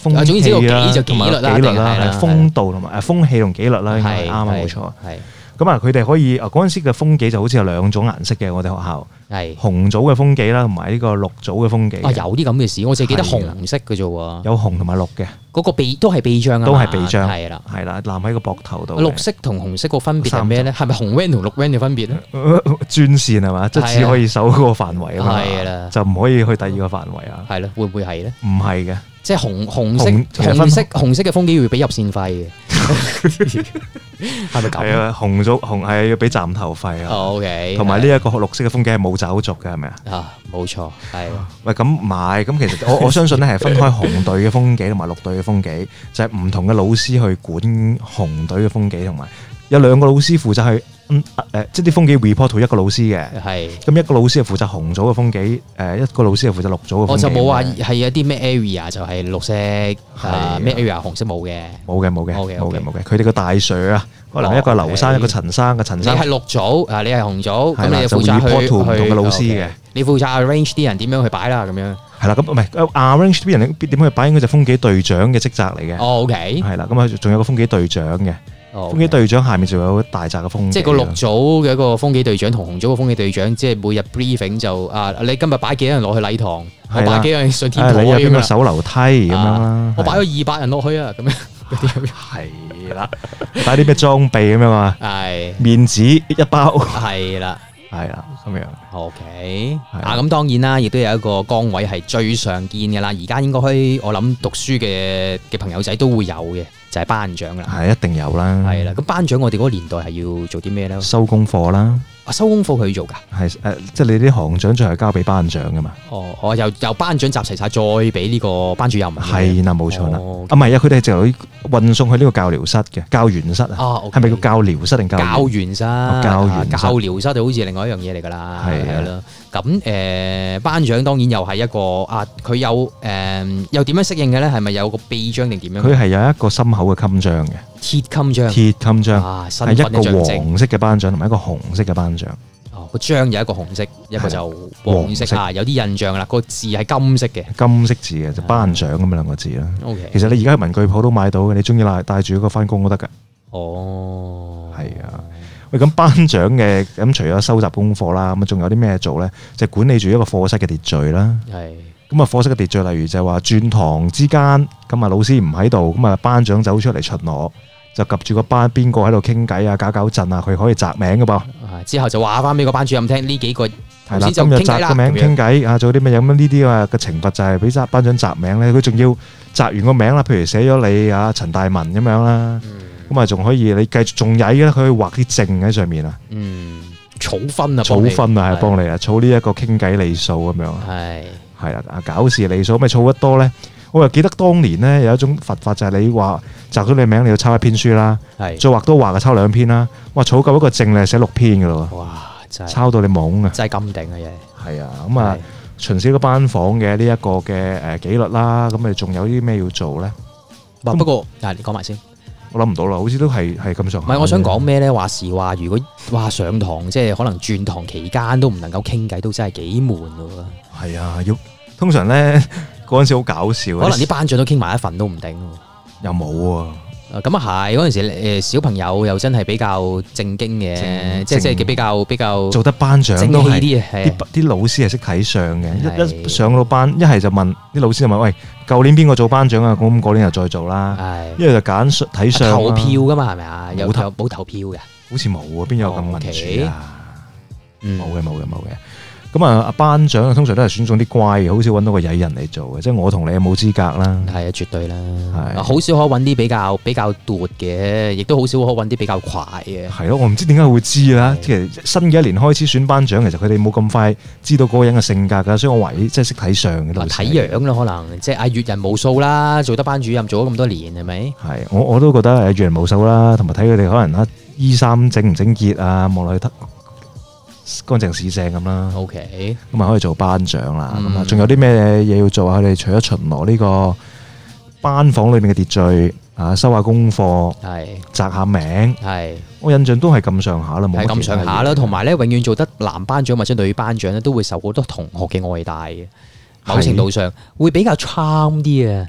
風氣啦， 同埋紀律啦， 係風度同埋風氣同紀律啦，應該啱啊，冇錯。係咁啊，佢哋可以嗰陣時嘅風紀就好似有2種顏色嘅，我哋學校係紅組嘅風紀啦，同埋呢個綠組嘅風紀。有啲咁嘅事，我淨係記得紅色嘅啫喎。有紅同埋綠嘅，嗰個都係臂章啊，都係臂章，係啦，攬喺個膊頭度。綠色同紅色個分別係咩咧？係咪紅 van 同綠 van 嘅分別咧？專線係嘛，即係只可以守嗰個範圍啊嘛，係啦，就唔可以去第二個範圍啊。係咯，會唔會係咧？唔係嘅。即係紅色嘅風紀要俾入線費嘅，係咪咁？係啊，紅係要俾站頭費啊。OK，同埋呢一個綠色嘅風紀係冇走續嘅，係咪啊？啊，冇錯，係。喂，咁唔係，咁其實我相信咧係分開紅隊嘅風紀同埋綠隊嘅風紀，就係唔同嘅老師去管紅隊嘅風紀，同埋有2個老師負責去。即係啲風紀 report 到一個老師嘅，係咁一個老師係負責紅組嘅風紀，一個老師係負責綠組嘅風紀。我就冇話係有啲咩 area 就係綠色，咩 area 紅色冇嘅，冇嘅。佢哋個大 Sir 啊，可能一個劉生，一個陳生，陳生。你係綠組，你係紅組，咁你就負責去唔同嘅老師嘅。你負責 arrange 啲人點樣去擺啦，咁樣。係啦，咁唔係 arrange 啲人點去擺，應該就風紀隊長嘅職責嚟嘅。OK。係啦，咁啊仲有個風紀隊長嘅。風紀隊長下面仲有大紮嘅風紀，即係個綠組嘅一個風紀隊長同紅組嘅風紀隊長，即係每日 briefing 就你今日擺幾多人落去禮堂，我擺幾多人上天台，你有邊個手樓梯咁樣啦？我擺咗200人落去啊，咁樣嗰啲係啦，擺啲咩裝備咁樣啊？係面紙一包，係啦，咁樣。OK，咁當然啦，亦都有一個崗位係最常見嘅啦，而家應該我諗讀書嘅朋友仔都會有嘅。就係班長啦，係一定有啦。係啦，咁班長我哋嗰個年代係要做啲咩咧？收功課啦。收功課佢要做㗎？係即係你啲行長最後交俾班長㗎嘛？哦，由班長集齊晒，再俾呢個班主任。係啦，冇錯啦。唔係啊，佢哋就運送去呢個教療室嘅教員室啊。係咪叫教療室定教員室？教療室就好似另外一樣嘢嚟㗎啦。係啦。咁班長當然又係一個佢有又點樣適應嘅咧？係咪有個臂章定點樣？佢係有一個心口嘅襟章嘅鐵襟章，係一個黃色嘅班長同埋一個紅色嘅班長。個章有一個紅色，一個就黃色啊，有啲印象啦。個字係金色嘅，金色字嘅就班長咁樣2個字啦。OK，其實你而家喺文具鋪都買到嘅，你中意帶住嗰個翻工都得㗎。哦，係啊。喂，咁班長嘅咁除咗收集功課啦，咁仲有啲咩做咧？就管理住一個課室嘅秩序啦。係。咁啊，課室嘅秩序，例如就係話轉堂之間，咁啊老師唔喺度，咁啊班長走出嚟巡邏，就及住個班邊個喺度傾偈啊、搞震啊，佢可以摘名㗎噃。之後就話翻俾個班主任聽，呢幾個係啦，今日摘個名傾偈啊，做啲咩咁呢啲啊嘅懲罰就係俾班長摘名咧。佢仲要摘完個名啦，譬如寫咗你啊陳大文咁樣啦，咁啊仲可以你繼續仲曳嘅，佢可以畫啲證喺上面啊。儲分啊，係幫你啊，儲呢一個傾偈里數咁樣。係啦，搞事里數，咪儲得多咧。我又記得當年咧有一種罰法，就係你話摘咗你名，你要抄1篇書啦，再畫多畫就抄2篇啦。哇，儲夠一個證你係寫6篇噶咯。哇，真係抄到你懵啊！真係咁定嘅嘢。係啊，咁啊巡視個班房嘅呢一個嘅紀律啦，咁你仲有啲咩要做咧？不過你講埋先。我諗唔到啦，好似都係咁上下。唔係，我想講咩咧？話時話，如果話上堂即係可能轉堂期間都唔能夠傾偈，都真係幾悶噶。係啊，通常咧嗰陣時好搞笑，可能啲班長都傾埋一份都唔定。又冇啊。咁啊係，嗰陣時小朋友又真係比較正經嘅，即係比較做得班長都係啲老師係識睇相嘅，一上到班一係就問啲老師就問，喂，舊年邊個做班長啊？咁嗰年又再做啦，一係就揀睇相。投票噶嘛係咪啊？冇投票嘅，好似冇啊，邊有咁民主啊？冇嘅。咁啊，班長通常都係選中啲乖嘅，好少揾到個曳人嚟做嘅。即係我同你有冇資格啦？係啊，絕對啦。係好少可揾啲比較奪嘅，亦都好少可揾啲比較快嘅。係咯，我唔知點解會知啦。其實新嘅一年開始選班長，其實佢哋冇咁快知道嗰個人嘅性格㗎，所以我懷疑即係識睇相嘅。睇樣啦，可能即係閱人無數啦，做得班主任做咗咁多年，係咪？係，我都覺得閱人無數啦，同埋睇佢哋可能衣衫整唔整潔啊，望落去乾淨市正咁啦。OK，咁啊可以做班長啦。咁啊，仲有啲咩嘢要做啊？佢哋除咗巡邏呢個班房裏面嘅秩序啊，收下功課，係摘下名，係我印象都係咁上下啦，冇咁上下啦。同埋咧，永遠做得男班長或者女班長咧，都會受好多同學嘅愛戴嘅。某程度上會比較 charm 啲啊。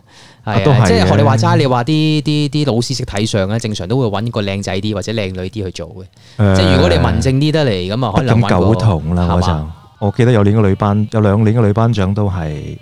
係啊，即係學你話齋，你話啲老師識睇相咧，正常都會揾個靚仔啲或者靚女啲去做嘅。即係如果你文靜啲得嚟，咁啊可能咁苟同啦，我記得有年嘅女班，有2年嘅女班長都係。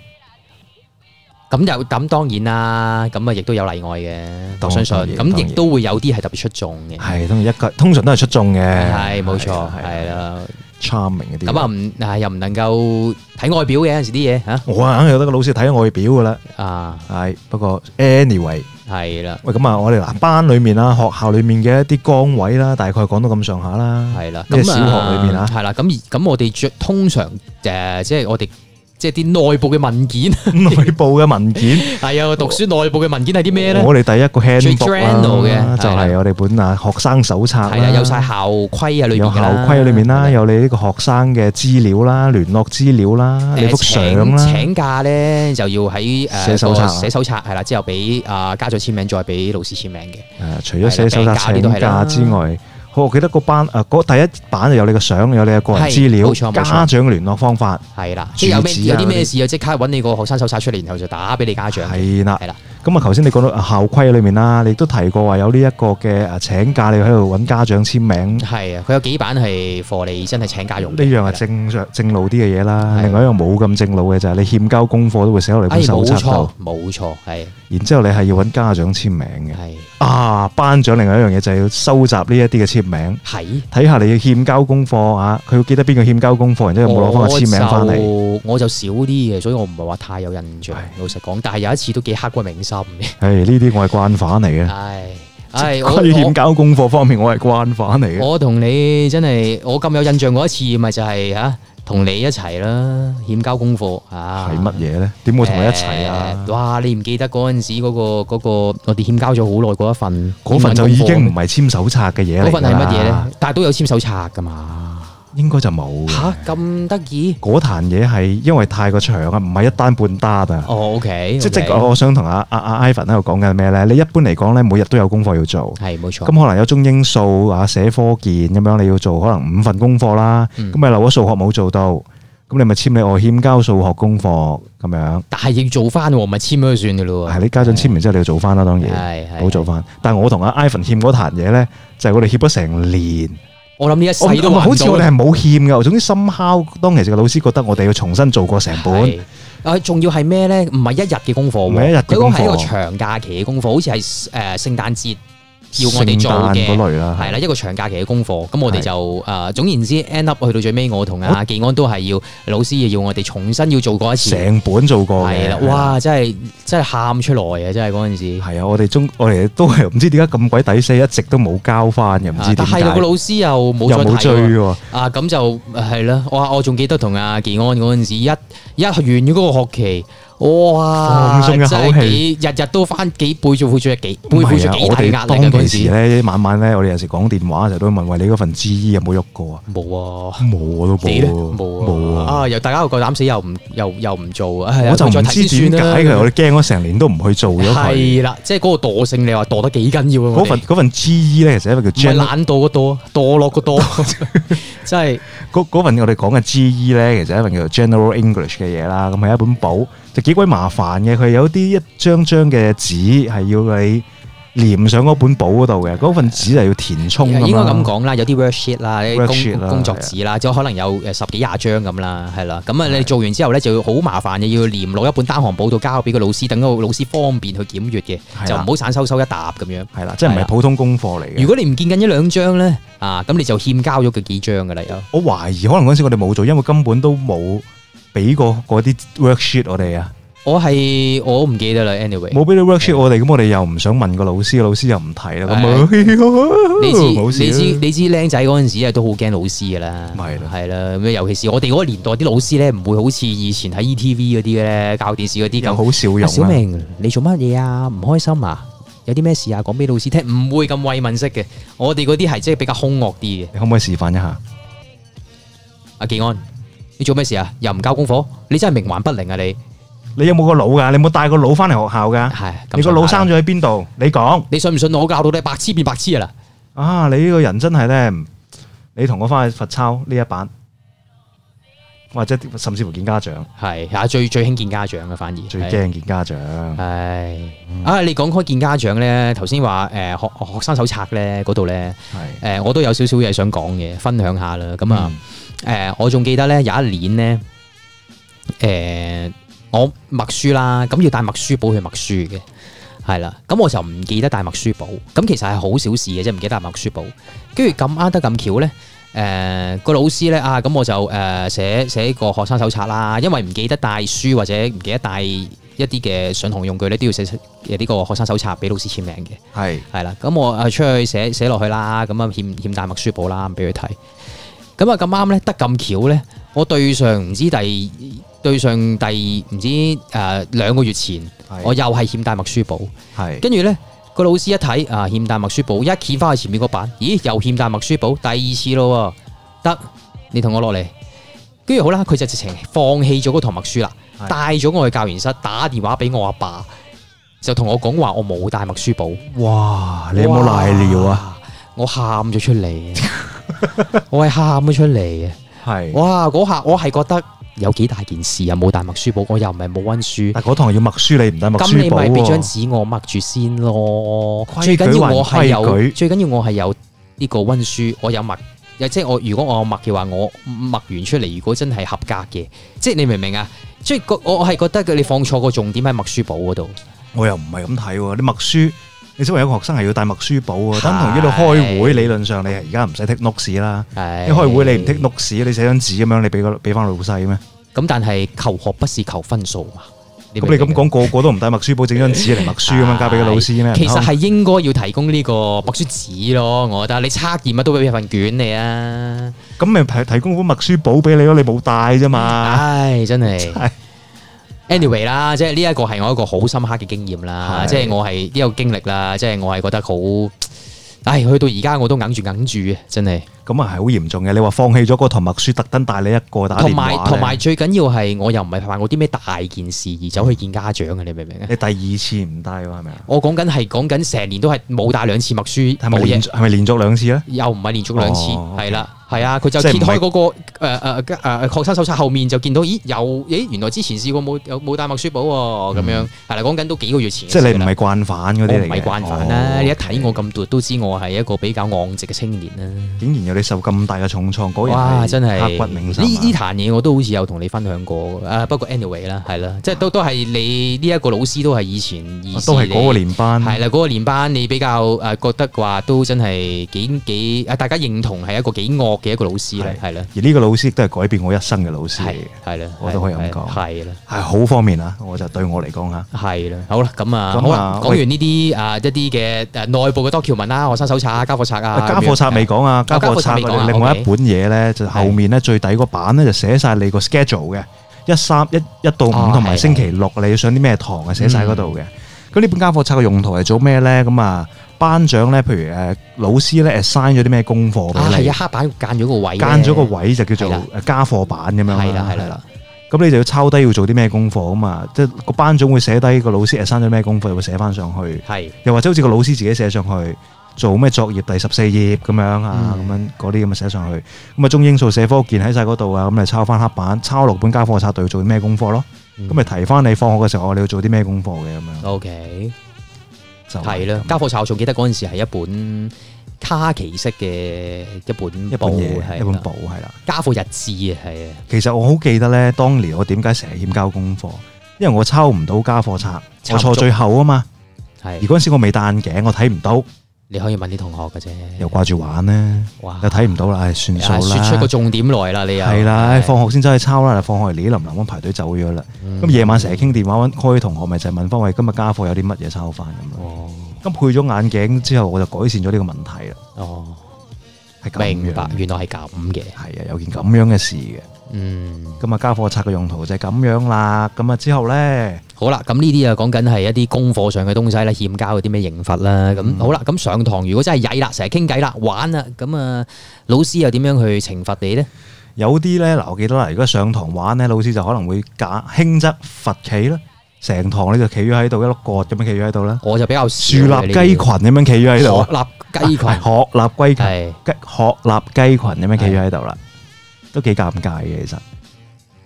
咁當然啦，咁啊亦都有例外嘅，我相信。咁亦都會有啲係特別出眾嘅。係， 通常都係出眾嘅。 係冇錯，係啦。 charming 嗰啲。 咁啊又唔能夠睇外表嘅，有陣時啲嘢嚇。我硬係有得個老師睇外表㗎啦。係不過 anyway 係啦。 喂，咁啊，我哋嗱班裡面啦，學校裡面嘅一啲崗位啦，大概講到咁上下啦。 係啦。 咁小學裡面啊。 係啦。咁我哋通常即係我哋。即係啲內部嘅文件， 內部嘅文件係啊，讀書內部嘅文件係啲咩咧？ 我哋第一個 handbook 嘅就係我哋本學生手冊啦， 有晒校規啊，裏面有校規裏面啦，有你呢個學生嘅資料啦、聯絡資料啦、你幅相啦。請假咧就要喺寫手冊係啦，之後俾家長簽名，再俾老師簽名嘅。 除咗寫手冊請假之外。我記得嗰班第一版就有你嘅相，有你嘅個人資料，家長嘅聯絡方法係啦，即係有啲咩事就即刻揾你個學生手冊出嚟，然後就打俾你家長。 係啦，咁啊，頭先你講到校規裏面啦，你亦都提過話有呢一個嘅請假，你喺度揾家長簽名。係啊，佢有幾版係貨你真係請假用。呢樣係正路啲嘅嘢啦，另外一樣冇咁正路嘅就係你欠交功課都會寫落嚟本手冊度。冇錯，係。然之後你係要揾家長簽名嘅。係班長另外一樣嘢就係要收集呢一啲嘅簽名，睇下你要欠交功課啊，佢要記得邊個欠交功課，然之後有冇攞翻個簽名翻嚟。我就少啲嘅，所以我唔係話太有印象。老實講，但係有一次都幾刻骨銘心嘅。呢啲我係慣犯嚟嘅。關於欠交功課方面，我係慣犯嚟嘅。我同你真係我咁有印象嗰一次，咪就係同你一齊啦，欠交功課係乜嘢咧？點會同你一齊啊？哇！你唔記得嗰陣時嗰個我哋欠交咗好耐嗰一份，嗰份就已經唔係簽手冊嘅嘢嚟啦。嗰份係乜嘢咧？但係都有簽手冊噶嘛？應該就冇嚇咁得意。嗰壇嘢係因為太過長啊，唔係一單半單啊。OK，即我想同阿 Ivan 喺度講緊咩咧？你一般嚟講咧，每日都有功課要做，係冇錯。咁可能有中英數寫科健咁樣，你要做可能5份功課啦。咁咪漏咗數學冇做到，咁你咪簽你我欠交數學功課咁樣。但係要做翻喎，咪簽咗就算嘅咯喎。係你家長簽完之後你要做翻啦，當然好做翻。但係我同阿 Ivan 欠嗰壇嘢咧，就係我哋欠咗成年。我諗呢一世都好似我哋係冇欠嘅，總之深敲當其時嘅老師覺得我哋要重新做過成本。仲要係咩咧？唔係一日嘅功課，唔係一日嘅功課，佢講係一個長假期嘅功課，好似係聖誕節要我哋做嘅嗰類啦，係啦，一個長假期嘅功課。咁我哋就總言之 end up 去到最尾，我同阿技安都係要老師要我哋重新要做過一次，成本做過嘅。係啦，哇！真係喊出來啊！真係嗰陣時。係啊，我哋都係唔知點解咁鬼抵死，一直都冇交翻嘅，唔知點解。但係個老師又冇再追喎。咁就係啦。我仲記得同阿技安嗰陣時，一完咗嗰個學期。哇！放鬆一口氣，日日都翻背負住幾大壓力嘅嗰陣時咧，晚晚咧，我哋有時講電話就都問：喂，你嗰份 GE 有冇喐過啊？冇啊，冇我都冇啊！又大家又夠膽死，又唔做啊！我就唔知點解嘅，我哋驚咗成年都唔去做咗佢。係啦，即係嗰個惰性，你話惰得幾緊要啊？嗰份 GE 咧，其實一個叫唔係懶惰個惰，墮落個墮，即係嗰份我哋講嘅 GE 咧，其實一份叫做 General English 嘅嘢啦。咁係一本簿。就幾鬼麻煩嘅，佢有啲一張張嘅紙係要你黏上嗰本簿嗰度嘅，嗰份紙就要填充。應該咁講啦，有啲 worksheet 啦，工作紙啦，即可能有10幾20張咁啦，係啦。咁啊，你做完之後咧，就要好麻煩嘅，要黏落一本單行簿度交俾個老師，等個老師方便去檢閱嘅，就唔好散收一沓咁樣。係啦，即係唔係普通功課嚟嘅。如果你唔見緊一兩張咧，咁你就欠交咗佢幾張㗎啦。我懷疑可能嗰陣時我哋冇做，因為根本都冇俾過嗰啲 worksheet 我哋啊。我唔記得啦 ，anyway 冇俾你 worksheet 我哋，咁我哋又唔想問個老師，老師又唔提啦，咁你知僆仔嗰陣時都好驚老師噶啦，係啦，咁尤其是我哋嗰個年代啲老師咧，唔會好似以前喺 ETV 嗰啲咧教電視嗰啲咁好笑容。小明，你做乜嘢啊？唔開心啊？有啲咩事啊？講俾老師聽，唔會咁慰問式嘅。我哋嗰啲係即係比較兇惡啲嘅。你可唔可以示範一下？阿技安，你做咩事啊？又唔交功課？你真係冥頑不靈啊！你有冇個腦噶？你有冇帶個腦翻嚟學校噶？係，你個腦生咗喺邊度？你講，你信唔信我教到你白痴變白痴啊啦？你呢個人真係咧，你同我翻去罰抄呢一版。 或者甚至乎見家長。 係啊，最興見家長嘅，反而最驚見家長。 係你講開見家長咧，頭先話學生手冊咧嗰度咧，我都有少少嘢想講嘅，分享下啦。咁啊我仲記得咧有一年咧，我默書啦，咁要帶默書簿去默書嘅。係啦，咁我就唔記得帶默書簿，咁其實係好小事嘅啫，唔記得帶默書簿。跟住咁啱得咁巧咧，個老師咧咁我就寫個學生手冊啦，因為唔記得帶書或者唔記得帶一啲嘅上堂用具咧，都要寫呢個學生手冊俾老師簽名嘅。係啦，咁我出去寫落去啦，咁啊欠帶默書簿啦，俾佢睇。咁啊咁啱咧，得咁巧咧，我對上唔知第唔知2個月前，我又係欠帶默書簿，跟住咧個老師一睇欠帶默書簿，一掀翻去前面個版，咦又欠帶默書簿，第2次咯，得你同我落嚟，跟住好啦，佢就直情放棄咗嗰堂默書啦，帶咗我去教研室，打電話俾我阿爸，就同我講話我冇帶默書簿。哇！ 你有冇賴尿啊？ 我喊咗出嚟，我係喊咗出嚟嘅。哇！嗰下我係覺得有幾大件事啊！冇帶默書簿，我又唔係冇溫書。 但嗰堂要默書，你唔帶默書簿，咁你咪俾張紙我默住先咯。最緊要我係有呢個溫書，我有默。即係如果我有默嘅話，我默完出嚟，如果真係合格嘅，即係你明唔明啊？即係我係覺得你放錯個重點喺默書簿嗰度。我又唔係咁睇喎，你默書。你作為一個學生係要帶默書簿啊，等同於你開會，理論上你係而家唔使 take notes 啦。你開會你唔 take notes，你寫張紙咁樣，你俾翻老細咩？咁但係求學不是求分數嘛？咁你咁講，個個都唔帶默書簿，整張紙嚟默書咁樣交俾個老師咩？其實係應該要提供呢個默書紙咯，我覺得你測驗乜都俾份卷你啊。咁咪提供本默書簿俾你咯，你冇帶啫嘛。唉，真係。Anyway 啦，即係呢一個係我一個好深刻嘅經驗啦，即係我係呢個經歷啦，即係我係覺得好，去到而家我都硬住嘅，真係。咁啊係好嚴重嘅，你話放棄咗嗰堂默書，特登帶你一個打電話，同埋最緊要係我又唔係犯過啲咩大件事而走去見家長嘅，你明唔明啊？你第2次唔帶喎，係咪啊？我講緊成年都係冇帶2次默書，係咪連續2次咧？又唔係連續2次，係啦。係啊，佢就揭開嗰個學生手冊後面就見到，原來之前試過冇帶默書簿喎，咁樣係啦，講緊都幾個月前。即係你唔係慣犯嗰啲嚟嘅。我唔係慣犯啦，你一睇我咁奪都知我係一個比較昂直嘅青年啦。竟然有你受咁大嘅重創，果然真係刻骨銘心。呢壇嘢我都好似有同你分享過，不過 anyway 啦，係啦，即係都係你呢一個老師都係以前都係嗰個年班，係啦，嗰個年班你比較覺得話都真係幾大家認同係一個幾惡嘅一個老師咧，係啦，而呢個老師亦都係改變我一生嘅老師嚟嘅，係啦，我都可以咁講，係啦，係好方面啊，我就對我嚟講嚇，係啦，好啦，咁啊，講完呢啲一啲嘅內部嘅document啦，學生手冊啊，交課冊啊，交課冊未講啊，交課冊未講，另外一本嘢咧就後面咧最底嗰版咧就寫晒你個 schedule 嘅1到5同埋星期六你要上啲咩堂啊，寫晒嗰度嘅。咁呢本交課冊嘅用途係做咩咧？咁啊，班長咧，譬如老師咧 assign 咗啲咩功課俾你？係啊，黑板間咗個位，間咗個位就叫做家課版咁樣。係啦，係啦。咁你就要抄低要做啲咩功課啊嘛？即係個班長會寫低個老師 assign 咗咩功課，又會寫翻上去。係。又或者好似個老師自己寫上去，做咩作業第14頁咁樣啊？咁樣嗰啲咁啊寫上去。咁啊中英數社科健喺晒嗰度啊，咁咪抄翻黑板，抄落本家課冊度要做啲咩功課咯？咁咪提翻你放學嘅時候，你要做啲咩功課嘅咁樣。OK，就係啦。家課冊我仲記得嗰陣時係一本卡其色嘅一本嘢，一本簿係啦。家課日誌啊，係啊。其實我好記得咧，當年我點解成日欠交功課，因為我抄唔到家課冊，我坐最後啊嘛。係。而嗰陣時我未戴眼鏡，我睇唔到。你可以問啲同學嘅啫，又掛住玩咧，又睇唔到啦，算數啦。説出個重點來啦，你又係啦，放學先走去抄啦，放學嚟淋咁排隊走咗啦。咁夜晚成日傾電話開同學，咪就係問翻喂，今日家課有啲乜嘢抄翻咁咯。咁配咗眼鏡之後，我就改善咗呢個問題啦。哦，係咁樣，明白，原來係咁嘅，係啊，有件咁樣嘅事嘅。咁啊，家課冊嘅用途就係咁樣啦。咁啊之後咧，好啦，咁呢啲啊講緊係一啲功課上嘅東西啦，欠交嗰啲咩刑罰啦。咁好啦，咁上堂如果真係曳啦，成日傾偈啦，玩啦，咁啊老師又點樣去懲罰你咧？有啲咧嗱，我記得啦，如果上堂玩咧，老師就可能會輕則罰企啦，成堂你就企咗喺度一碌角咁樣企咗喺度啦。我就比較樹立雞群咁樣企咗喺度，立雞群，鶴立雞群，鶴立雞群咁樣企咗喺度啦。都幾尷尬嘅，其實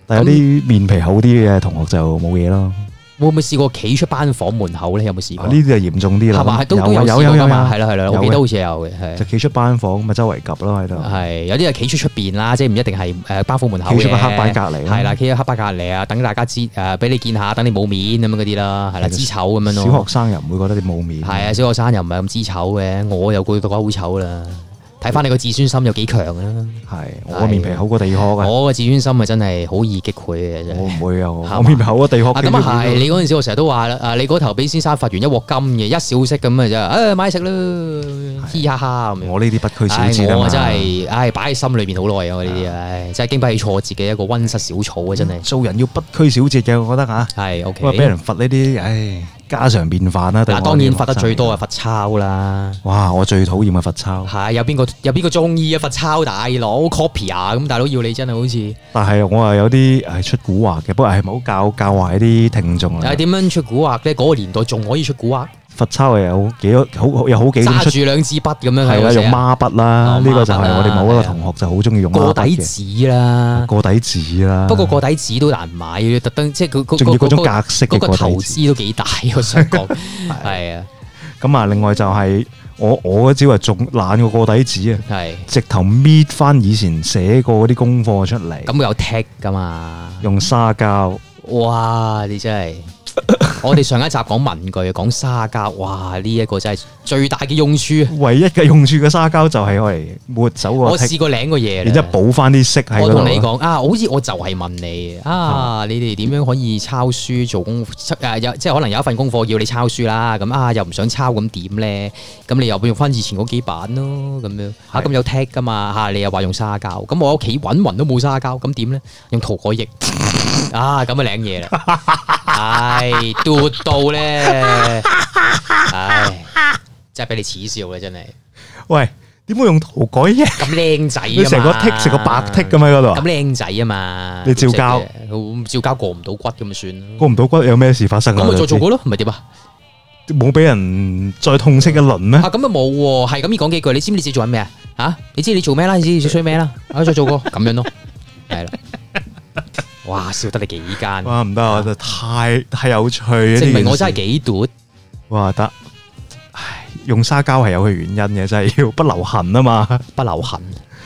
但係有啲面皮厚啲嘅同學就冇嘢咯。 會唔會試過企出班房門口咧？有冇試過？ 呢啲就嚴重啲啦。 係嘛？都有試過㗎嘛？係啦，我記得好似有嘅。 就企出班房咪周圍及咯喺度。 係有啲係企出邊啦，即係唔一定係班房門口嘅。企出個黑板隔離。係啦，企喺黑板隔離啊，等大家知俾你見下，等你冇面咁樣嗰啲啦，係啦，知醜咁樣咯。 小學生又唔會覺得你冇面。 係啊，小學生又唔係咁知醜嘅，我又覺得好醜啦。睇翻你個自尊心有幾強啦。係， 我面皮厚過地殼嘅。 我個自尊心啊真係好易擊潰嘅真係。我唔會啊，我面皮厚過地殼。 咁啊係，你嗰陣時我成日都話啦，你嗰頭俾先生罰完一鑊金嘅，一小息咁啊啫，買食啦，嘻哈哈咁樣。我呢啲不拘小節啊嘛。我真係，擺喺心裏邊好耐啊！我呢啲，真係經不起挫折嘅一個溫室小草啊！真係。做人要不拘小節嘅，我覺得嚇。係 OK。不過俾人罰呢啲，家常便飯啦。嗱，當然罰得最多係罰抄啦。哇！我最討厭嘅罰抄。係有邊個中意啊？罰抄大佬 copy 啊！咁大佬要你真係好似。但係我係有啲係出蠱惑嘅，不過係唔好教壞啲聽眾啊。點樣出蠱惑咧？嗰個年代仲可以出蠱惑。罰抄係有好幾種出。揸住兩支筆咁樣係啦，用孖筆啦。呢個就係我哋某一個同學就好中意用孖筆嘅。過底紙啦，過底紙啦。不過過底紙都難買，特登即係佢仲要嗰種格式嘅過底紙。嗰個投資都幾大，我想講係啊。咁啊，另外就係我嗰招係仲懶過過底紙啊，係直頭搣翻以前寫過嗰啲功課出嚟。咁有剔噶嘛？用沙膠。哇！你真係〜我哋上一集講文具，講沙膠，哇！呢一個真係最大嘅用處。唯一嘅用處嘅沙膠就係我嚟抹走個。我試過領個嘢，然之後補翻啲色喺嗰度。我同你講好似我就係問你你哋點樣可以抄書做功即係可能有一份功課要你抄書啦，咁又唔想抄咁點咧？咁你又用翻以前嗰幾版咯，咁樣咁有 tag 噶嘛你又話用沙膠，咁我屋企揾勻都冇沙膠，咁點咧？用塗改液咁啊領嘢啦。唉，嘟到咧，唉，真係俾你恥笑啦，真係。喂，點會用塗改液？咁靚仔啊嘛，你成個剔成個白剔咁喺嗰度。咁靚仔啊嘛，你照膠，照膠過唔到骨咁咪算咯。過唔到骨有咩事發生啊？咁咪再做過咯，唔係點啊？冇俾人再痛斥一輪咩？咁啊冇喎，係咁要講幾句。你知唔知你自己做緊咩啊？你知你做咩啦？你知你做衰咩啦？再做過咁樣咯，係啦。哇！笑得你幾奸？哇！唔得，我就太有趣。證明我真係幾奪。哇！得，唉，用沙膠係有佢原因嘅，真係要不留痕啊嘛。不留痕，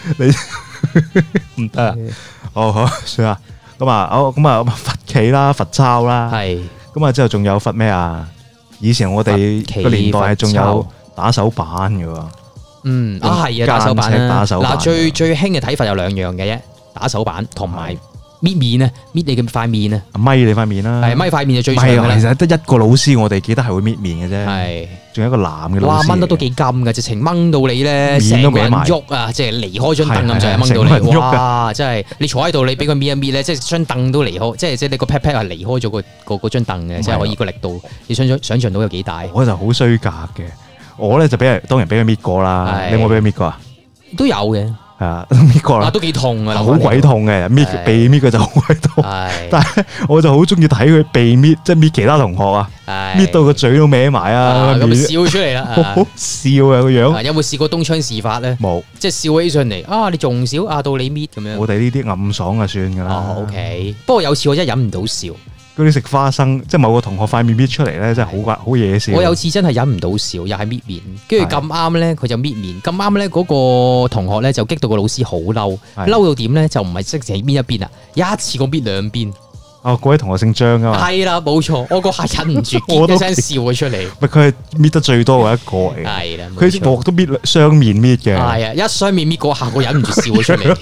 你唔得啊！好算啦。咁啊，罰企啦，罰抄啦。係。咁啊，之後仲有罰咩啊？以前我哋個年代係仲有打手板嘅喎。係啊，打手板啦。嗱，最興嘅睇法有兩樣嘅啫，打手板同埋。搣面啊，搣你嘅塊面啊，咪你塊面啦，係咪塊面就最長嘅啦。其實得一個老師，我哋記得係會搣面嘅啫，係，仲有一個男嘅老師。哇，掹得都幾金㗎，直情掹到你咧，成個人喐啊，即係離開張凳咁就係掹到你。哇，真係你坐喺度，你俾佢搣一搣咧，即係張凳都離開，即係你個 pat pat 係離開咗嗰張凳嘅，即係可以個力度，你想像到有幾大？我就好衰格嘅，我咧就當然俾佢搣過啦，你有冇俾佢搣過啊？都有嘅。搣過啦，都幾痛啊，好鬼痛嘅，被搣佢就好鬼痛。但係我就好中意睇佢被搣，即係搣其他同學啊，搣到個嘴都歪埋啊，咁笑出嚟啦，好好笑啊個樣。有冇試過東窗事發咧？冇，即係笑起上嚟你仲笑到你搣咁樣。我哋呢啲暗爽就算噶啦。OK，不過有次我真係忍唔到笑。嗰啲食花生，即係某個同學塊面搣出嚟咧，真係好嘢笑。我有次真係忍唔到笑，又係搣面，跟住咁啱咧，佢就搣面，咁啱咧嗰個同學咧就激到個老師好嬲，嬲到點咧就唔係即係搣一邊啊，一次過搣兩邊。嗰位同學姓張啊嘛。係啦，冇錯，我嗰下忍唔住，結一聲笑咗出嚟。佢係搣得最多嘅一個嚟。係啦，佢鑊都搣雙面搣嘅。係啊，一雙面搣嗰下，我忍唔住笑咗出嚟。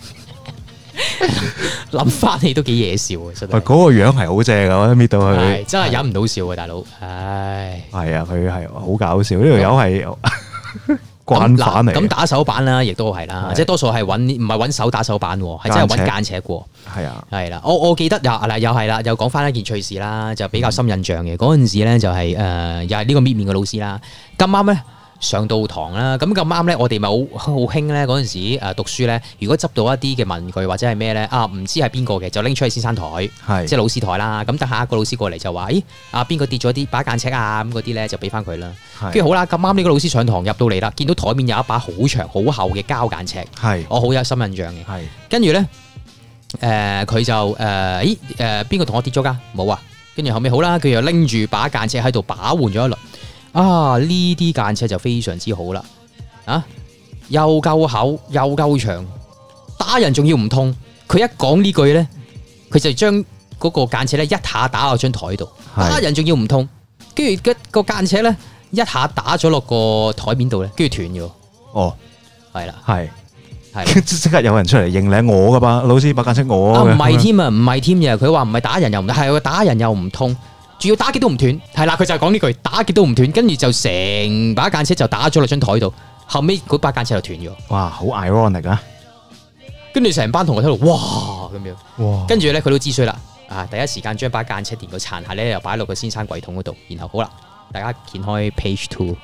諗翻起都幾嘢笑啊！真係，嗰個樣係好正啊！我搣到佢，真係忍唔到笑啊！大佬，唉，係啊，佢係好搞笑，呢條友係慣犯嚟。咁打手板啦，亦都係啦，即係多數係唔係揾手打手板，係真係揾間尺喎。係啊，係啦，我記得又係啦，又講翻一件趣事啦，就比較深印象嘅。嗰陣時咧就係又係呢個搣面嘅老師啦，咁啱咧。上到堂啦，咁咁啱咧，我哋咪好興咧嗰陣時讀書咧，如果執到一啲嘅文具或者係咩咧唔知係邊個嘅，就拎出去先生台，即係老師台啦。咁等下一個老師過嚟就話：咦邊個跌咗啲把間尺啊？咁嗰啲咧就俾翻佢啦。跟住好啦，咁啱呢個老師上堂入到嚟啦，見到台面有一把好長好厚嘅膠間尺，我好有深印象嘅。跟住咧佢就邊個同學跌咗㗎？冇啊！跟住後尾好啦，佢又拎住把間尺喺度把玩咗一輪。啊！呢啲間尺就非常之好啦，又夠厚又夠長，打人仲要唔痛。佢一講呢句咧，佢就將嗰個間尺咧一下打落張台度，打人仲要唔痛。跟住個間尺咧一下打咗落個台面度咧，跟住斷咗。哦，係啦，係。 即刻有人出嚟認領我噶吧，老師把間尺我嘅。 唔係添啊，唔係添嘅。佢話唔係打人又唔係，打人又唔痛，仲要打極都唔斷。係啦，佢就係講呢句，打極都唔斷，跟住就成把間尺就打咗落張台度，後尾嗰把間尺就斷咗。哇，好 ironic 啊！跟住成班同學喺度，哇咁樣，哇！跟住咧佢都知衰啦，第一時間將把間尺連個殘骸咧又擺落個先生櫃桶嗰度，然後好啦，大家掀開 page 2。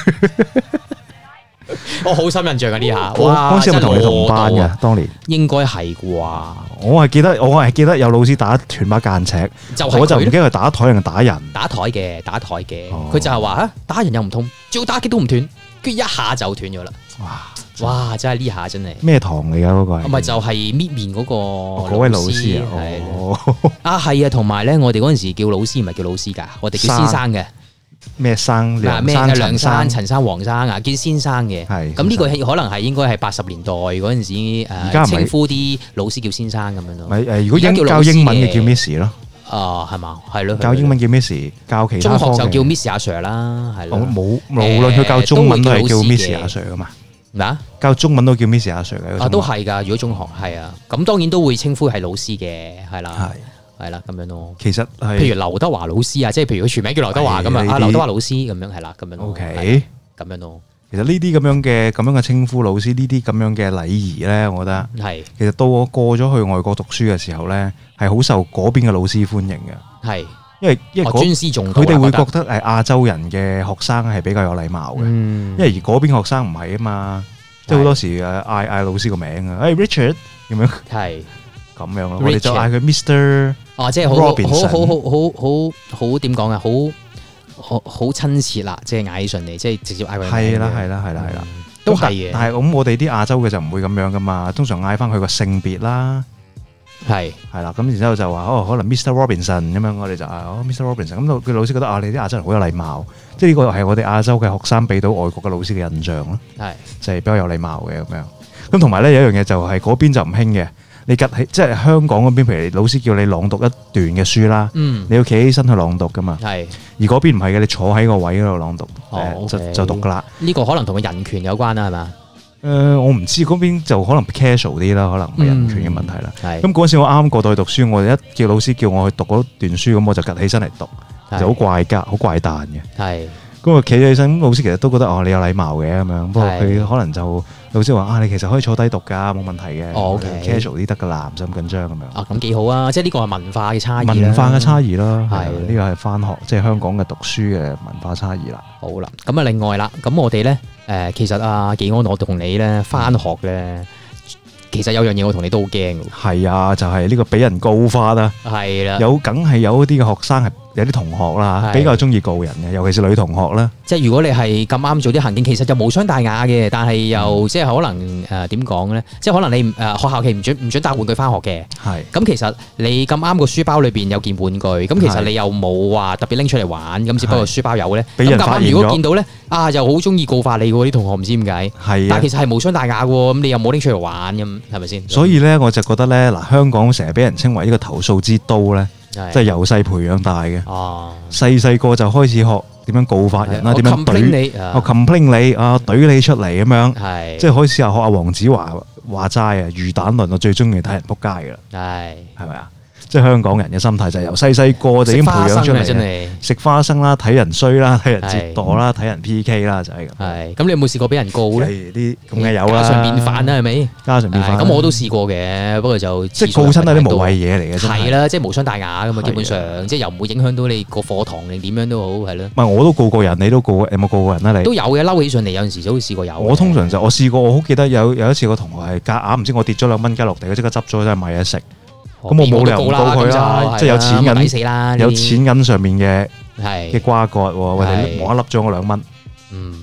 我好深印象啊呢下，哇！嗰時係咪同你同班嘅？當年應該係啩？我係記得有老師打斷把間尺，我就唔記得佢打台定打人。打台嘅，佢就係話打人又唔痛，照打極都唔斷，跟住一下就斷咗啦。哇！真係呢下真係咩堂嚟噶嗰個？咪就係搣面嗰位老師啊？係啊，同埋咧，我哋嗰陣時叫老師唔係叫老師噶，我哋叫先生嘅。咩生？咩梁生、陳生、黃生啊，叫先生嘅。係咁呢個可能係應該係80年代嗰陣時稱呼啲老師叫先生咁樣咯。如果教英文嘅叫 Miss 咯。係嘛？係咯。教英文叫 Miss， 教其他中學就叫 Miss 阿 Sir 啦，係咯。無論佢教中文都係叫 Miss 阿 Sir 噶嘛。嗱，教中文都叫 Miss 阿 Sir 嘅。都係㗎。如果中學係啊，咁當然都會稱呼係老師嘅，係啦。係啦，咁樣咯。其實係，譬如劉德華老師啊，即係譬如佢全名叫劉德華咁啊，劉德華老師咁樣係啦，咁樣。OK，咁樣咯。其實呢啲咁樣嘅稱呼老師，呢啲咁樣嘅禮儀咧，我覺得係。其實到我過咗去外國讀書嘅時候咧，係好受嗰邊嘅老師歡迎嘅。係，因為尊師重道，佢哋會覺得亞洲人嘅學生係比較有禮貌嘅。因為而嗰邊學生唔係啊嘛，即係好多時嗌老師個名啊，Richard 咁樣。係。咁樣咯，我哋就嗌佢 Mr. 即係好點講啊，好親切啦，即係嗌起上嚟，即係直接嗌佢。係啦，都係嘅。但係咁，我哋啲亞洲嘅就唔會咁樣噶嘛，通常嗌翻佢個性別啦，係啦，咁然之後就話可能 Mr. Robinson 咁樣，我哋就Mr. Robinson，咁佢老師覺得你啲亞洲人好有禮貌，即係呢個係我哋亞洲嘅學生俾到外國嘅老師嘅印象咯，係就係比較有禮貌嘅咁樣。咁同埋咧有一樣嘢就係嗰邊就唔興嘅。你即係香港嗰邊，譬如老師叫你朗讀一段嘅書啦，你要企起身去朗讀噶嘛。係，而嗰邊唔係嘅，你坐喺個位嗰度朗讀，就讀噶啦。呢個可能同個人權有關啦，係嘛？我唔知嗰邊就可能 casual 啲啦，可能唔係人權嘅問題啦。咁嗰陣時我啱過到去讀書，我一叫老師叫我去讀嗰段書，咁我就趌起身嚟讀，就好怪格、好怪誕嘅。係。咁啊，企起身，老師其實都覺得你有禮貌嘅咁樣，不過佢可能就老師話你其實可以坐低讀㗎，冇問題嘅。casual 啲得㗎啦，唔使咁緊張咁樣。咁幾好啊！即係呢個係文化嘅差異。文化嘅差異啦，係呢個係返學，即係香港嘅讀書嘅文化差異啦。好啦，咁啊另外啦，咁我哋咧其實技安我同你咧返學咧。其實有樣嘢我同你都好驚嘅。係啊，就係呢個俾人告發啊。係啦，梗係有啲嘅學生係有啲同學啦，比較中意告人嘅，尤其是女同學啦。即係如果你係咁啱做啲行徑，其實就無傷大雅嘅，但係又即係可能點講咧？即係可能你學校期唔準帶玩具翻學嘅。係。咁其實你咁啱個書包裏邊有件玩具，咁其實你又冇話特別拎出嚟玩，咁只不過書包有咧。俾人發現咗。如果見到咧，又好中意告發你喎啲同學，唔知點解。係。但係其實係無傷大雅喎，咁你又冇拎出嚟玩咁。係咪先？所以咧，我就覺得咧，嗱，香港成日俾人稱為呢個投訴之都咧，即係由細培養大嘅。哦，細個就開始學點樣告發人啦，點樣懟你，complain 你懟你出嚟咁樣。係，即係開始學阿黃子華話齋啊，魚蛋論我最中意睇人仆街噶啦。係咪啊？即係香港人嘅心態就係由細個就已經培養出嚟，食花生啦，睇人衰啦，睇人折墮啦，睇人 PK 啦，就係咁。係，咁你有冇試過俾人告咧？啲咁嘅有啦，家常便飯啦，係咪？家常便飯。咁我都試過嘅，不過就即係告親都係啲無謂嘢嚟嘅。係啦，即係無傷大雅咁啊，基本上即係又唔會影響到你個課堂定點樣都好，係咯。唔係我都告過人，你都告過，有冇告過人啊？你都有嘅，嬲起上嚟有陣時都會試過有。我通常就我試過，我好記得有一次個同學係夾硬唔知我跌咗2蚊雞落地，佢即刻執咗真係買嘢食。咁我冇理由唔告佢啦，即係有錢銀，有錢銀上面嘅瓜葛，或者無啦啦執咗我2蚊。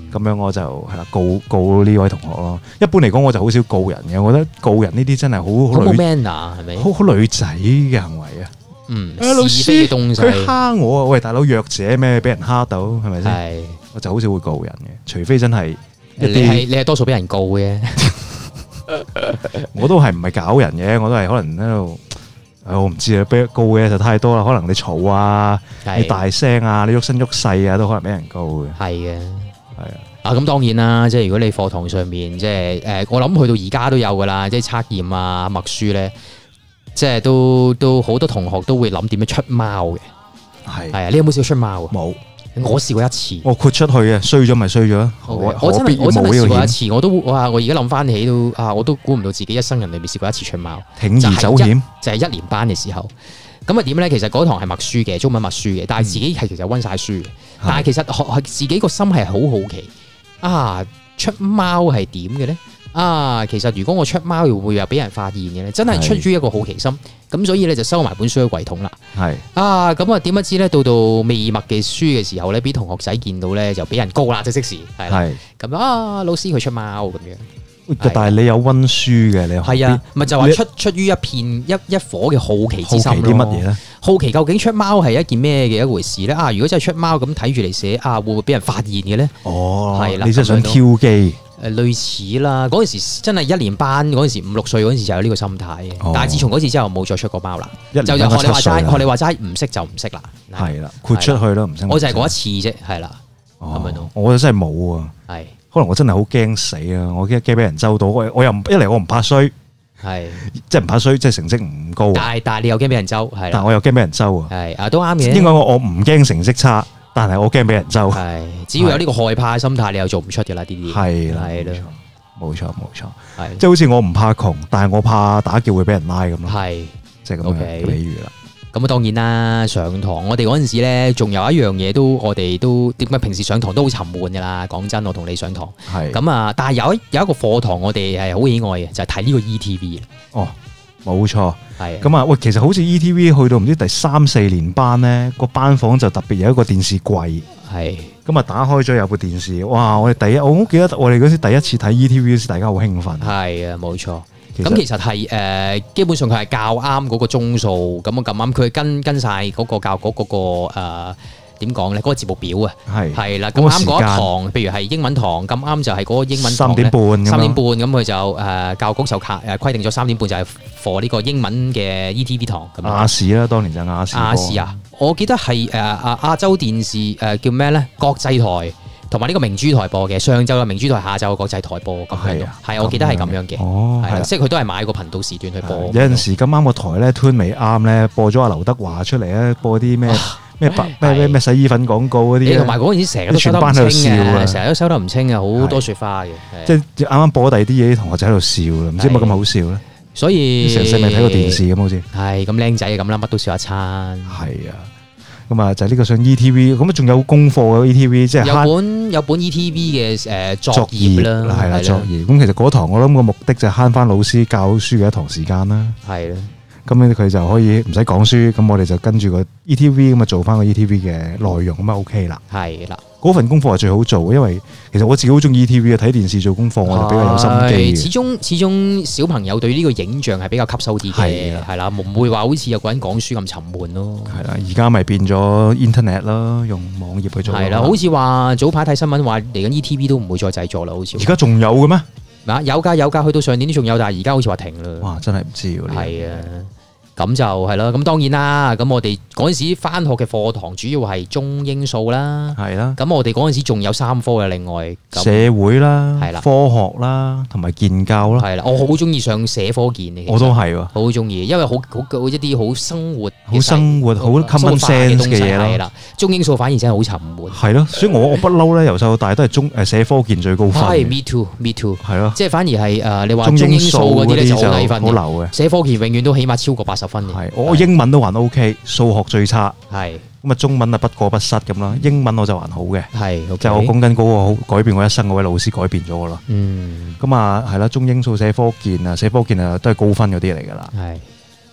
咁樣我就係啦告呢位同學咯。一般嚟講，我就好少告人嘅。我覺得告人呢啲真係好冇 manner 係咪？ 好女仔嘅行為啊！老師佢蝦我啊！喂，大佬弱者咩？俾人蝦到係咪先？係，我就好少會告人嘅，除非真係你係多數俾人告嘅。我都係唔係搞人嘅，我都係可能喺度。我唔知啊，俾告嘅就太多啦。可能你嘈啊，你大聲啊，你喐身喐勢啊，都可能俾人告嘅。係嘅，係啊。咁當然啦，即係如果你課堂上面即係我諗去到而家都有噶啦，即係測驗啊、默書咧，即係都好多同學都會諗點樣出貓嘅。係啊，你有冇試過出貓啊？冇。我試過一次，我豁出去啊，衰咗咪衰咗。我真係試過一次，我而家諗翻起都我都估唔到自己一生人裏面試過一次出貓，鋌而走險，就係1年班嘅時候。咁啊點咧？其實嗰堂係默書嘅，中文默書嘅，但係自己係其實溫晒書嘅。但係其實自己個心係好好奇出貓係點嘅咧？其實如果我出貓會唔會又俾人發現嘅咧？真係出於一個好奇心，咁所以咧就收埋本書喺櫃桶啦。係咁啊點不知咧到未默嘅書嘅時候咧，俾同學仔見到咧就俾人告啦，即時係啦。咁老師佢出貓咁樣。但係你有溫書嘅，你係啊，咪就話出於一片一顆嘅好奇之心咯。啲乜嘢咧？好奇究竟出貓係一件咩嘅一回事咧？如果真係出貓咁睇住嚟寫會唔會俾人發現嘅咧？係啦，你真係想挑機。類似啦，嗰陣時真係1年班嗰陣時5、6歲嗰陣時就有呢個心態嘅，但係自從嗰次之後冇再出過貓啦。就學你話齋，唔識就唔識啦。係啦，豁出去咯，唔識。我就係嗰一次啫，係啦。咁樣咯。我真係冇啊。係。可能我真係好驚死啊！我驚俾人周到，我又一嚟我唔怕衰，係即係唔怕衰，即係成績唔高。但係你又驚俾人周，係。但我又驚俾人周啊。係都啱嘅。應該我唔驚成績差。但係我驚俾人周，係只要有呢個害怕嘅心態，你又做唔出嘅啦，呢啲係啦，係啦，冇錯，係即係好似我唔怕窮，但係我怕打劫會俾人拉咁咯，係即係咁嘅比喻啦。咁當然啦，上堂我哋嗰陣時咧，仲有一樣嘢我哋都點解平時上堂都好沉悶噶啦。講真，我同你上堂係咁但係有一個課堂我哋係好喜愛嘅，就係睇呢個 ETV 哦。冇錯，係咁喂，其實好似 ETV 去到唔知第3、4年班咧，個班房就特別有一個電視櫃，係咁打開咗有部電視，哇！我好記得我哋嗰時第一次睇 ETV 嗰時，大家好興奮，係啊，冇錯。咁其實係基本上佢係校啱嗰個鐘數，咁啱佢跟晒嗰個教局嗰個點講咧？嗰個節目表啊，係啦，咁啱嗰一堂，譬如係英文堂，咁啱就係嗰個英文堂3點半咁佢就教局就規定咗3點半就係 for 呢個英文嘅 ETV 堂。亞視啦，當年就亞視啊，我記得係亞洲電視叫咩咧？國際台同埋呢個明珠台播嘅，上晝嘅明珠台，下晝嘅國際台播咁樣。係我記得係咁樣嘅。哦，係啦，即係佢都係買個頻道時段去播。有陣時咁啱個台咧 tune 未啱咧，播咗阿劉德華出嚟咧，播啲咩？咩洗衣粉廣告嗰啲，同埋嗰陣時成日都收得唔清啊，成日都收得唔清啊，好多雪花嘅。即係啱啱播第二啲嘢，啲同學仔喺度笑啦，唔知有冇咁好笑咧。所以成世未睇過電視咁好似。係咁僆仔咁啦，乜都笑一餐。係啊，咁啊就係呢個上 ETV，咁啊仲有功課嘅 ETV，即係有本 ETV 嘅作業啦，係啦作業。咁其實嗰堂我諗個目的就係慳翻老師教書嘅一堂時間啦。係啦。咁咧佢就可以唔使講書，咁我哋就跟住個 ETV 咁啊做翻個 ETV 嘅內容咁啊 OK 啦。係啦，嗰份功課係最好做，因為其實我自己好中意 ETV 啊，睇電視做功課我就比較有心機。始終小朋友對呢個影像係比較吸收啲嘅，係啦，唔會話好似有個人講書咁沉悶咯。係啦，而家咪變咗 Internet 啦，用網頁去做。係啦，好似話早排睇新聞話嚟緊 ETV 都唔會再製作啦，好似。而家仲有嘅咩？有㗎，去到上年都仲有，但係而家好似話停啦。哇，真係唔知喎。係啊。咁就係啦，咁當然啦，咁我哋嗰陣時返學嘅課堂主要係中英數啦，係啦。咁我哋嗰陣時仲有3科嘅，另外社會啦，係啦，科學啦，同埋建教啦，係啦。我好中意上社科建嘅，我都係喎，好中意，因為好一啲好生活、好 common sense 嘅嘢係啦。中英數反而真係好沉悶，係咯。所以我不嬲咧，由細到大都係社科建最高分。係 me too，係咯。即係反而係你話中英數嗰啲咧就好低分嘅，好流嘅。社科建永遠都起碼超過80分。係，我英文都還 OK，數學最差。係，咁啊中文啊不過不失咁啦，英文我就還好嘅。係，就我講緊嗰個好改變我一生嗰位老師改變咗我啦。咁啊係啦，中英數社科建啊都係高分嗰啲嚟㗎啦。係，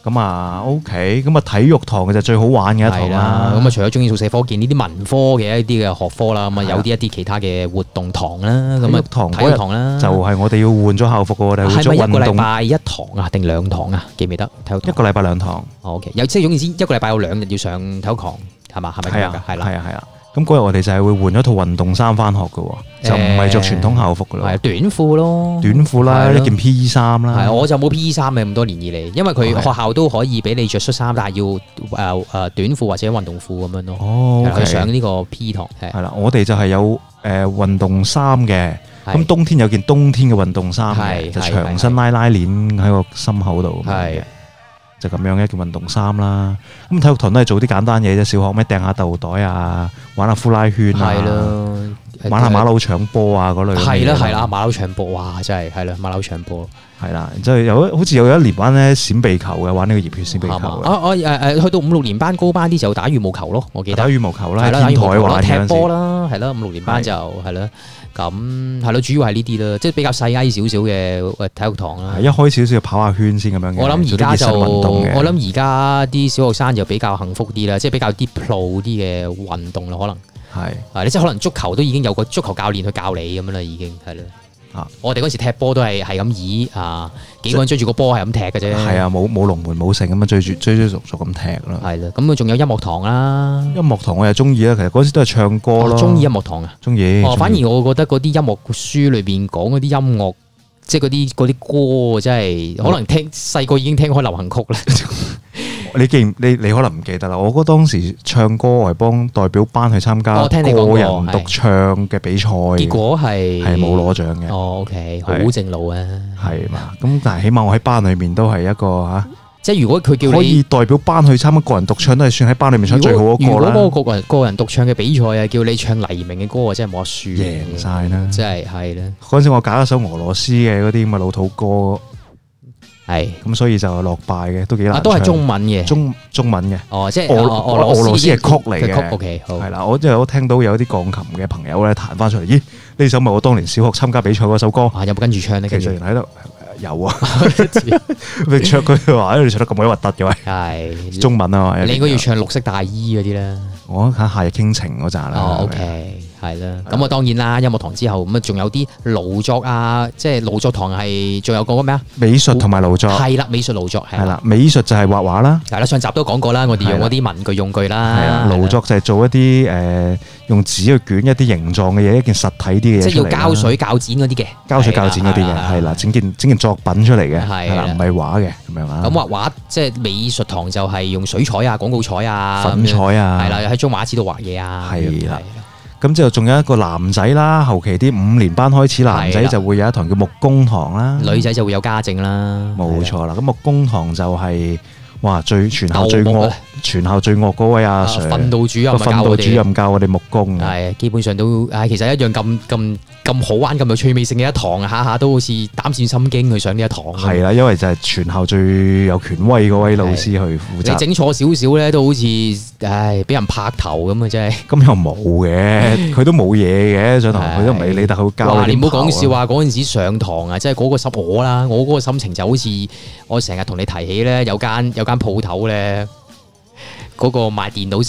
咁啊 OK，咁啊體育堂嘅就最好玩嘅一堂啦。 咁啊除咗中意數社科建呢啲文科嘅一啲嘅學科啦，咁啊有啲一啲其他嘅活動堂啦，咁啊體育堂啦， 就係我哋要換咗校服嘅，我哋係咪一個禮拜一堂啊，定2堂啊？記唔記得？體育堂一個禮拜2堂。 OK， 有即係總言之，一個禮拜有2日要上體育堂，係嘛？係咪咁樣㗎？係啦。 咁嗰日我哋就係會換咗套運動衫翻學嘅喎，就唔係着傳統校服嘅咯。 係短褲咯， 短褲啦，一件 P.E. 衫啦。 係，我就冇 P.E. 衫嘅咁多年以嚟，因為佢學校都可以俾你着恤衫，但係要短褲或者運動褲咁樣咯。 哦， 去上呢個 P 堂係啦，我哋就係有運動衫嘅，咁冬天有件冬天嘅運動衫嘅，就長身拉鏈喺個心口度。係。就咁樣一件運動衫啦，咁體育堂都係做啲簡單嘢啫，小學咩掟下豆袋啊，玩下呼啦圈啊，玩下馬騮搶波啊嗰類。係啦，馬騮搶波，哇真係係啦，馬騮搶波係啦，然之後好似有一年玩咧閃避球嘅，玩呢個熱血閃避球。 去到5、6年班高班啲就打羽毛球咯，我記得。 打羽毛球啦，天台玩踢波啦，係啦，5、6年班就係啦。咁係咯，主要係呢啲啦，即係比較細矮少少嘅體育堂啦。一開少少跑下圈先咁樣嘅。我諗而家啲小學生就比較幸福啲啦，即係比較啲 pro 啲嘅運動啦，可能係。你即係可能足球都已經有個足球教練去教你咁樣啦，已經係啦。我哋嗰時踢波都係咁幾個人追住個波係咁踢嘅啫。係啊，冇龍門冇成咁樣追逐咁踢咯。係啦，咁仲有音樂堂啦。音樂堂我又中意啦，其實嗰時都係唱歌咯。中意音樂堂啊？中意。反而我覺得嗰啲音樂書裏邊講嗰啲音樂，即係嗰啲歌，真係可能細個已經聽開流行曲啦。你可能唔記得啦。我覺得當時唱歌係幫代表班去參加個人獨唱嘅比賽，結果係冇攞獎嘅。哦 ，OK， 好正路啊。係嘛？咁但係起碼我喺班裏面都係一個即係如果佢叫你可以代表班去參加個人獨唱，都係算喺班裏面唱最好嗰個啦。如果嗰個個人獨唱嘅比賽啊，叫你唱黎明嘅歌啊，真係冇得輸，贏晒啦！真係係啦。嗰陣時我揀一首俄羅斯嘅嗰啲咁嘅老土歌。係咁，所以就落敗嘅，都幾難。都係中文嘅，中文嘅。哦，即係俄羅斯嘅曲嚟嘅。OK， 好。係啦，我聽到有啲鋼琴嘅朋友咧彈翻出嚟，咦？呢首咪我當年小學參加比賽嗰首歌。有冇跟住唱呢？其實喺度有啊。你唱佢話你唱得咁鬼核突嘅喂。係中文啊嘛。你應該要唱綠色大衣嗰啲啦。我睇夏日傾情嗰扎啦。哦，OK。係啦，咁啊當然啦，音樂堂之後咁啊仲有啲勞作啊，即係勞作堂係仲有個咩啊？美術同埋勞作係啦，美術勞作係啦，美術就係畫畫啦。係啦，上集都講過啦，我哋用嗰啲文具用具啦。係啦，勞作就係做一啲用紙去捲一啲形狀嘅嘢，一件實體啲嘅嘢。即係要膠水膠剪嗰啲嘅，膠水膠剪嗰啲嘅係啦，整件作品出嚟嘅係啦，唔係畫嘅咁樣啊。咁畫畫即係美術堂就係用水彩啊、廣告彩啊、粉彩啊，係啦，喺張畫紙度畫嘢啊。係啦。咁之後仲有一個男仔啦，後期啲5年班開始，男仔就會有一堂叫木工堂啦，女仔就會有家政啦。冇錯啦，咁木工堂就係哇全校最惡嗰位阿 Sir，訓導主任教我哋木工。係基本上都其實一樣咁好玩、咁有趣味性嘅一堂啊，下下都好似膽戰心驚去上呢一堂。係啦，因為就係全校最有權威嗰位老師去負責。你整錯少少咧，都好似俾人拍頭咁啊！真係。咁又冇嘅，佢都冇嘢嘅，上堂佢都唔理你，但佢會教你。你唔好講笑話，嗰陣時上堂啊，即係嗰個我嗰個心情就好似我成日同你提起咧，有間鋪頭咧。嗰個賣電腦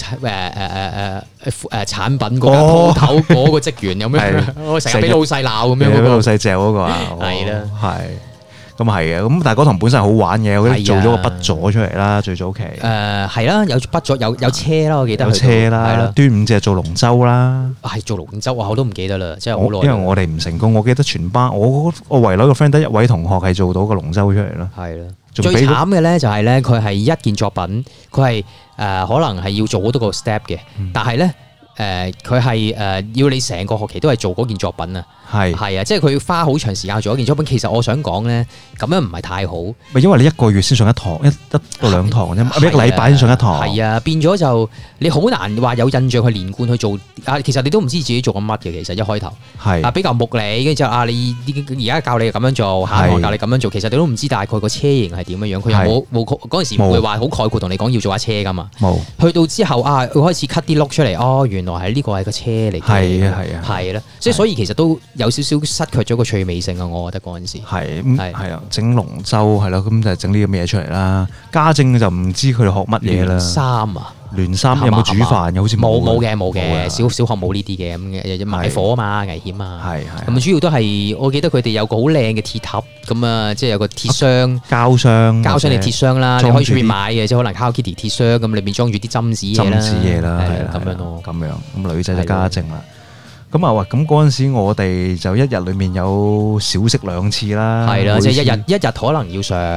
產品嗰間鋪頭嗰個職員有咩？我成日俾老細鬧咁樣，俾老細嚼嗰個啊，係啦，係咁係嘅。咁但係嗰堂本身係好玩嘅，我做咗個筆座出嚟啦，最早期。係啦，有筆座，有車啦，我記得。有車啦，端午節做龍舟啦。係做龍舟啊！我都唔記得啦，即係好耐。因為我哋唔成功，我記得全班我圍內個 friend 得一位同學係做到個龍舟出嚟啦。係啦。最慘嘅咧就係咧，佢係一件作品，佢係可能係要做好多個 step 嘅，但係咧佢係要你成個學期都係做嗰件作品啊。係啊，即係佢花好長時間做一件作品。其實我想講咧，咁樣唔係太好。咪因為你一個月先上一堂，一到2堂啫，一個禮拜先上一堂。係啊，變咗就你好難話有印象去連貫去做。其實你都唔知自己做緊乜嘅。其實一開頭係比較木理，跟住之後你而家教你咁樣做，下一堂教你咁樣做。其實你都唔知大概個車型係點樣樣。佢又冇嗰陣時唔會話好概括同你講要做下車噶嘛。冇去到之後佢開始 cut 啲碌出嚟。哦，原來係呢個係個車嚟嘅。 係啊， 係啦，即係所以其實都有少少失去咗個趣味性啊！我覺得嗰陣時係啊，整龍舟係咯，咁就整呢啲咁嘢出嚟啦。家政就唔知佢哋學乜嘢啦。 衫啊！ 聯衫有冇煮飯嘅？好似冇嘅，小學冇呢啲嘅咁嘅，買火啊嘛，危險啊。係咁主要都係我記得佢哋有個好靚嘅鐵盒咁啊，即係有個鐵箱、膠箱定鐵箱啦，你可以出面買嘅，即係可能 Hello Kitty 鐵箱咁，裏面裝住啲針紙嘢啦，係咁樣咯。咁樣咁女仔就家政啦。咁啊，咁嗰陣時我哋就一日裏面有小息2次啦，係啦，即係一日可能要上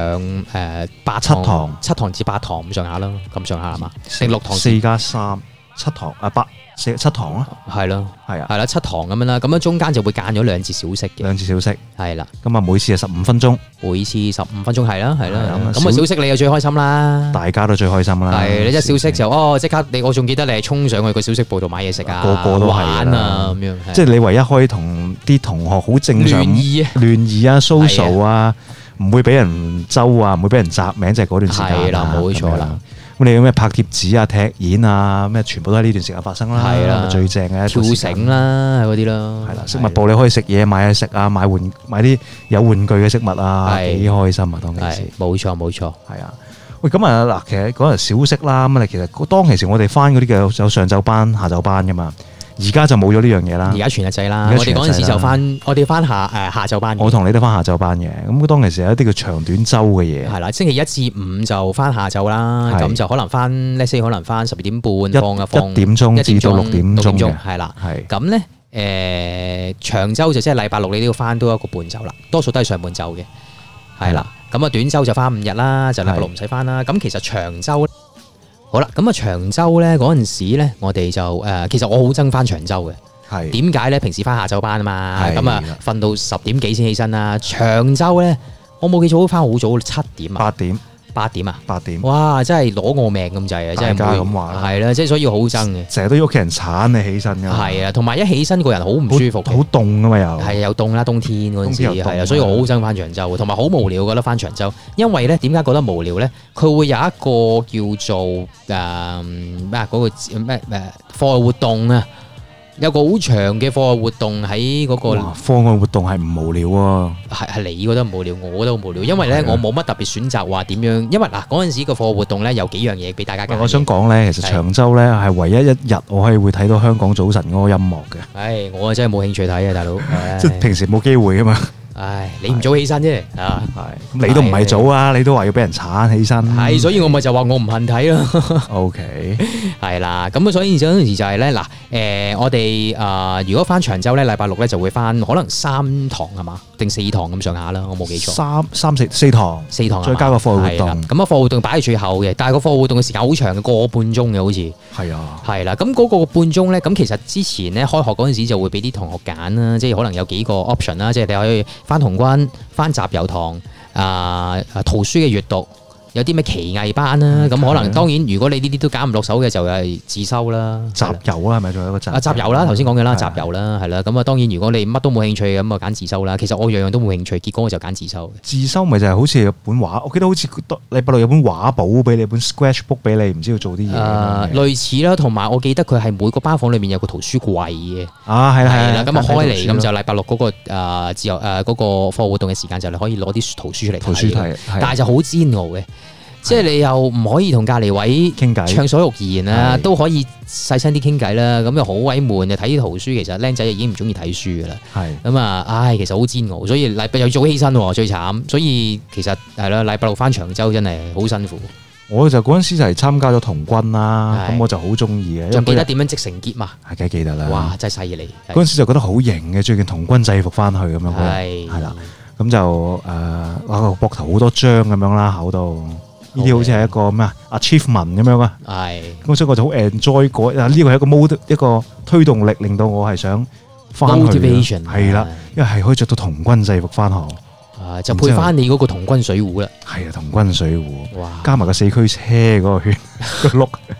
7堂至8堂咁上下啦，咁上下係嘛？定6堂4+3 7堂啊7堂啊，係咯，係啦7堂咁樣啦，咁樣中間就會間咗2節小息嘅，2節小息係啦，咁啊每次係15分鐘，每次15分鐘係啦，咁啊小息你就最開心啦，大家都最開心啦，係你一小息就即刻我仲記得你係衝上去個小息部度買嘢食啊，個個都係玩啊咁樣，即係你唯一可以同啲同學好正常聯誼啊 social 啊，唔會俾人揪啊，唔會俾人摘名，就係嗰段時間係啦，冇錯啦。咁你有咩拍貼紙啊、踢毽啊，咩全部都喺呢段時間發生啦，係啦，最正嘅跳繩啦，嗰啲咯，係啦，飾物部你可以食嘢、買嘢食啊，買啲有玩具嘅飾物啊，幾開心啊！當其時，冇錯，係啊。喂，咁啊嗱，其實嗰日小息啦，咁啊其實當其時我哋翻嗰啲嘅有上晝班、下晝班噶嘛。而家就冇咗呢樣嘢啦。而家全日制啦。我哋嗰陣時就我哋翻下晝班。我同你都翻下晝班嘅。咁當其時有一啲叫長短週嘅嘢。係啦，星期1至5就翻下晝啦。咁就可能翻可能翻12點半放1點鐘至到6點鐘嘅。係啦。係。咁咧長週就即係禮拜6你都要翻多1個半晝啦。多數都係上半晝嘅。係啦。咁啊短週就翻5日啦，就禮拜6唔使翻啦。咁其實長週好啦，咁啊長週咧嗰陣時咧，我哋就其實我好憎翻長週嘅。係點解咧？平時翻下晝班啊嘛，咁啊瞓到10點幾先起身啦。長週咧，我冇記錯，翻好早7點啊。8點啊！8點，哇！真係攞我命咁滯啊！真係大家咁話啦，係啦，即係所以好憎嘅。成日都要屋企人鏟你起身㗎。係啊，同埋一起身個人好唔舒服，好凍㗎嘛又。係又凍啦，冬天嗰陣時係啊，所以我好憎翻長週，同埋好無聊覺得翻長週。因為咧點解覺得無聊咧？佢會有一個叫做嗰個咩課外活動啊。有個好長嘅課外活動喺嗰個課外活動係唔無聊喎，係你覺得無聊，我覺得好無聊，因為咧我冇乜特別選擇話點樣，因為嗱嗰陣時個課外活動咧有幾樣嘢俾大家揀。我想講咧，其實長週咧係唯一一日我可以會睇到香港早晨嗰個音樂嘅。唉，我真係冇興趣睇啊，大佬，即係平時冇機會啊嘛。唉，你唔早起身啫，啊，係，咁你都唔係早啊，你都話要俾人鏟起身，係，所以我咪就話我唔恨睇咯。OK，係啦，咁所以有陣時就係咧，嗱，我哋如果翻長週咧，禮拜6咧就會翻可能3堂係嘛，定4堂咁上下啦，我冇記錯。4堂，再加個課外活動。咁啊，課外活動擺喺最後嘅，但係個課外活動嘅時間好長嘅，個半鐘嘅好似。係啊。係啦，咁嗰個半鐘咧，咁其實之前咧開學嗰陣時就會俾啲同學揀啦，即係可能有幾個 option 啦，即係你可以翻童軍、翻集郵堂、圖書嘅閱讀，有啲咩奇藝班啦，咁可能當然如果你呢啲都揀唔落手嘅，就係自修啦。集郵啦，係咪仲有一個集？集郵啦，頭先講嘅啦，集郵啦，係啦。咁啊，當然如果你乜都冇興趣嘅，咁啊揀自修啦。其實我樣樣都冇興趣，結果我就揀自修。自修咪就係好似有本畫，我記得好似禮拜6有本畫簿俾你，本 sketchbook 俾你，唔知要做啲嘢。類似啦，同埋我記得佢係每個班房裏面有個圖書櫃嘅。啊，係啦，係啦。咁啊開嚟，咁就禮拜6嗰個自由嗰個課活動嘅時間就你可以攞啲圖書出嚟睇。但係就好煎熬嘅。即係你又唔可以同隔離位傾偈暢所欲言啊，都可以細聲啲傾偈啦。咁又好鬼悶，就睇啲圖書。其實僆仔已經唔中意睇書噶啦。係咁啊，唉，其實好煎熬。所以禮拜又要早起身喎，最慘。所以其實係啦，禮拜6翻長週真係好辛苦。我就嗰陣時就係參加咗童軍啦，咁我就好中意嘅。仲記得點樣織成結嘛？係梗係記得啦。哇，真係犀利！嗰陣時就覺得好型嘅，最近童軍制服翻去咁樣。係啦，咁就個膊頭好多章咁樣啦，考到。呢啲好似係一個咩 achievement 咁樣啊，係咁所以我就好 enjoy 過呢個係一個 mode 一個推動力，令到我係想翻去係啦，因為係可以着到童軍制服翻學，就配翻你嗰個童軍水壺啦，係啊，童軍水壺，哇，加埋個4驅車嗰個圈個轆，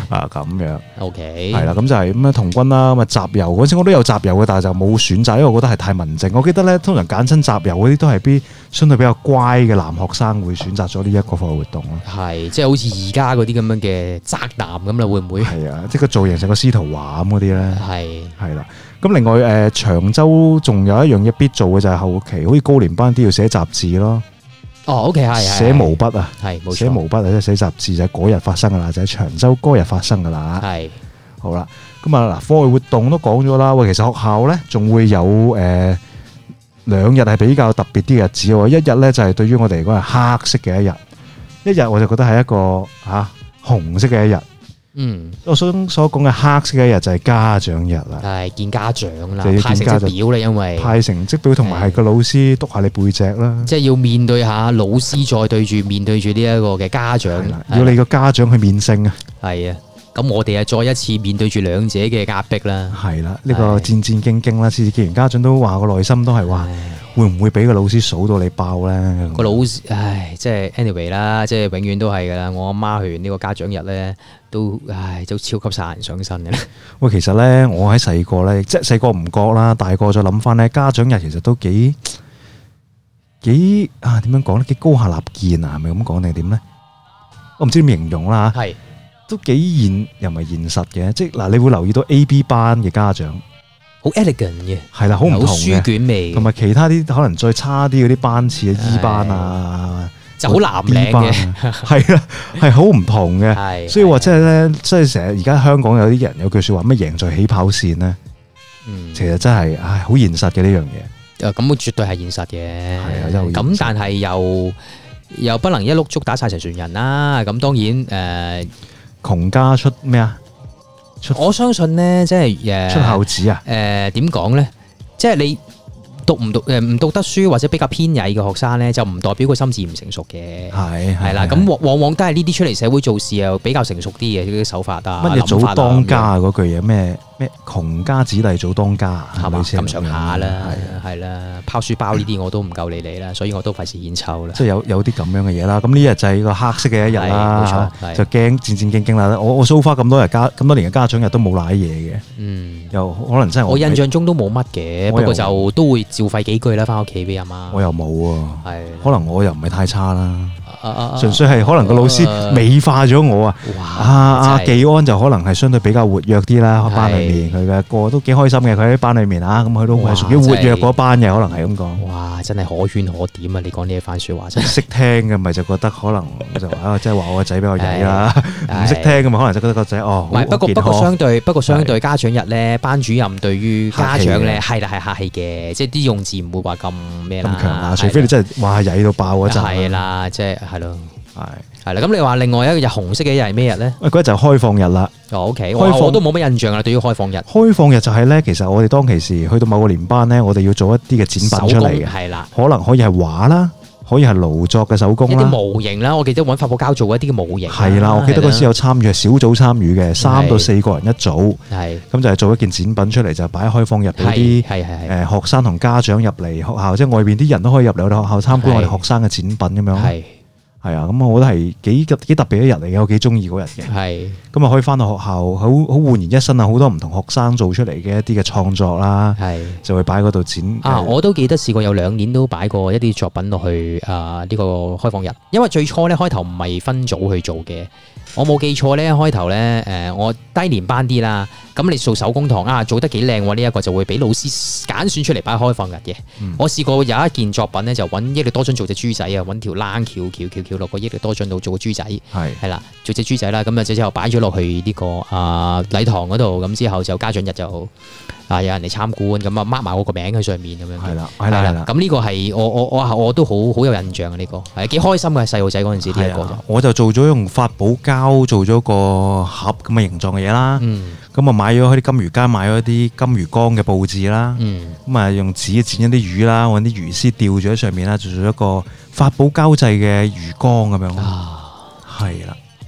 咁樣。 OK， 係啦，咁就係咁樣童軍啦。咁啊集郵嗰陣我都有集郵嘅，但係就冇選擇，因為我覺得係太文靜。我記得咧，通常揀親集郵嗰啲都係啲相對比較乖嘅男學生會選擇咗呢一個課外活動咯。 係，即係好似而家嗰啲咁樣嘅宅男咁啦，會唔會？ 係啊，即係個造型成個司徒華咁嗰啲咧。係啦。咁另外長洲仲有一樣嘢必做嘅就係後期，好似高年班啲要寫雜誌咯。 哦，OK，係寫毛筆啊， 係冇錯， 寫毛筆啊，即係寫雜誌就係嗰日發生噶啦，就係長洲嗰日發生噶啦。 係好啦，咁啊嗱，課外活動都講咗啦。喂，其實學校咧仲會有兩日係比較特別啲嘅日子喎。一日咧就係對於我哋嚟講係黑色嘅一日我就覺得係一個紅色嘅一日。我所講嘅黑色嘅一日就係家長日啦， 係見家長啦， 就要派成績表啦，因為派成績表同埋係個老師督下你背脊啦， 即係要面對下老師，再面對住呢一個嘅家長， 要你個家長去面聖啊， 係啊，咁我哋啊再一次面對住兩者嘅壓迫啦， 係啦，呢個戰戰兢兢啦，次次見完家長都話個內心都係話，會唔會俾個老師數到你爆咧？ 個老師，即係 anyway 啦，即係永遠都係噶啦。我阿媽去完呢個家長日咧，都超級殺人上身嘅。喂， 其實咧，我喺細個咧，即係細個唔覺啦，大個再諗翻咧，家長日其實都幾點樣講咧？幾高下立見啊？係咪咁講定係點咧？我唔知點形容啦嚇。係都幾現又唔係現實嘅，即係嗱，你會留意到 A、B 班嘅家長。 好 elegant 嘅， 係啦，好唔同嘅，好書卷味， 同埋其他啲可能再差啲嗰啲班次啊，E 班啊， 就好藍領嘅， 係啦，係好唔同嘅，所以話即係咧，即係成日而家香港有啲人有句説話，咩贏在起跑線咧，其實真係好現實嘅呢樣嘢。 咁絕對係現實嘅， 係啊， 咁但係又不能一碌竹打晒成船人啦。咁當然窮家出咩啊？ 我相信咧，即係出孝子啊！ 點講咧？即係你唔讀得書或者比較偏曳嘅學生咧，就唔代表佢心智唔成熟嘅。係啦，咁往往都係呢啲出嚟社會做事又比較成熟啲嘅呢啲手法啊。 乜嘢早當家啊？嗰句嘢咩窮家子弟早當家係嘛？咁上下啦，係啦，拋書包呢啲我都唔夠你理啦，所以我都費事獻醜啦。 即係有啲咁樣嘅嘢啦。咁呢日就係個黑色嘅一日啦，就驚戰戰兢兢啦。我so far咁多年嘅家長日都冇賴嘢嘅。又可能真係我印象中都冇乜嘅，不過就都會照廢幾句啦，翻屋企俾阿媽。我又冇喎， 係可能我又唔係太差啦。純粹係可能個老師美化咗我啊！阿技安就可能係相對比較活躍啲啦，班裏面佢嘅個都幾開心嘅，佢喺班裏面咁佢都係屬於活躍嗰班嘅，可能係咁講。 哇！真係可圈可點啊！你講呢一番説話真係識聽嘅咪就覺得可能就即係話我個仔比較曳啦，唔識聽嘅咪可能就覺得個仔唔係，不過相對家長日咧，班主任對於家長咧係客氣嘅，即係啲用字唔會話咁咩啦， 咁強啊！除非你真係話曳到爆嗰陣。 係啦，即係。係咯，係啦。咁你話另外一個日紅色嘅日係咩日咧？ 嗰日就開放日啦。 OK，我都冇乜印象啦。對於開放日， 開放日就係咧，其實我哋當其時去到某個年班咧，我哋要做一啲嘅展品出嚟嘅，係啦，可能可以係畫啦，可以係勞作嘅手工啦， 一啲模型啦。我記得揾發泡膠做一啲嘅模型。係啦，我記得嗰時有參與，係小組參與嘅，3到4個人一組。係咁就係做一件展品出嚟，就擺喺開放日俾啲學生同家長入嚟學校，即係外邊啲人都可以入嚟我哋學校參觀我哋學生嘅展品咁樣。係啊，咁我覺得係幾特別一日嚟嘅，我幾中意嗰日嘅。係咁啊，可以翻到學校，好煥然一新啊！好多唔同學生做出嚟嘅一啲嘅創作啦，就會擺喺嗰度展。 我都記得試過有2年都擺過一啲作品落去呢個開放日，因為最初咧開頭唔係分組去做嘅。我冇記錯咧，開頭咧我低年班啲啦，咁你做手工堂做得幾靚喎，呢一個就會俾老師揀選出嚟擺開放日嘅。我試過有一件作品咧，就揾益力多樽做隻豬仔啊，揾條冷橋落個益力多樽度做個豬仔，係啦，做隻豬仔啦，咁之後擺咗落去呢個禮堂嗰度，咁之後就家長日就有人嚟參觀，咁啊 mark 埋我個名喺上面咁樣。係啦，咁呢個係我都好有印象啊！呢個係幾開心嘅，細路仔嗰陣時呢一個。我就做咗用發泡膠做咗個盒咁嘅形狀嘅嘢啦。咁啊買咗喺啲金魚街買咗啲金魚缸嘅佈置啦。咁啊用紙剪一啲魚啦，揾啲魚絲吊住喺上面啦，做咗一個發泡膠製嘅魚缸咁樣。係啦。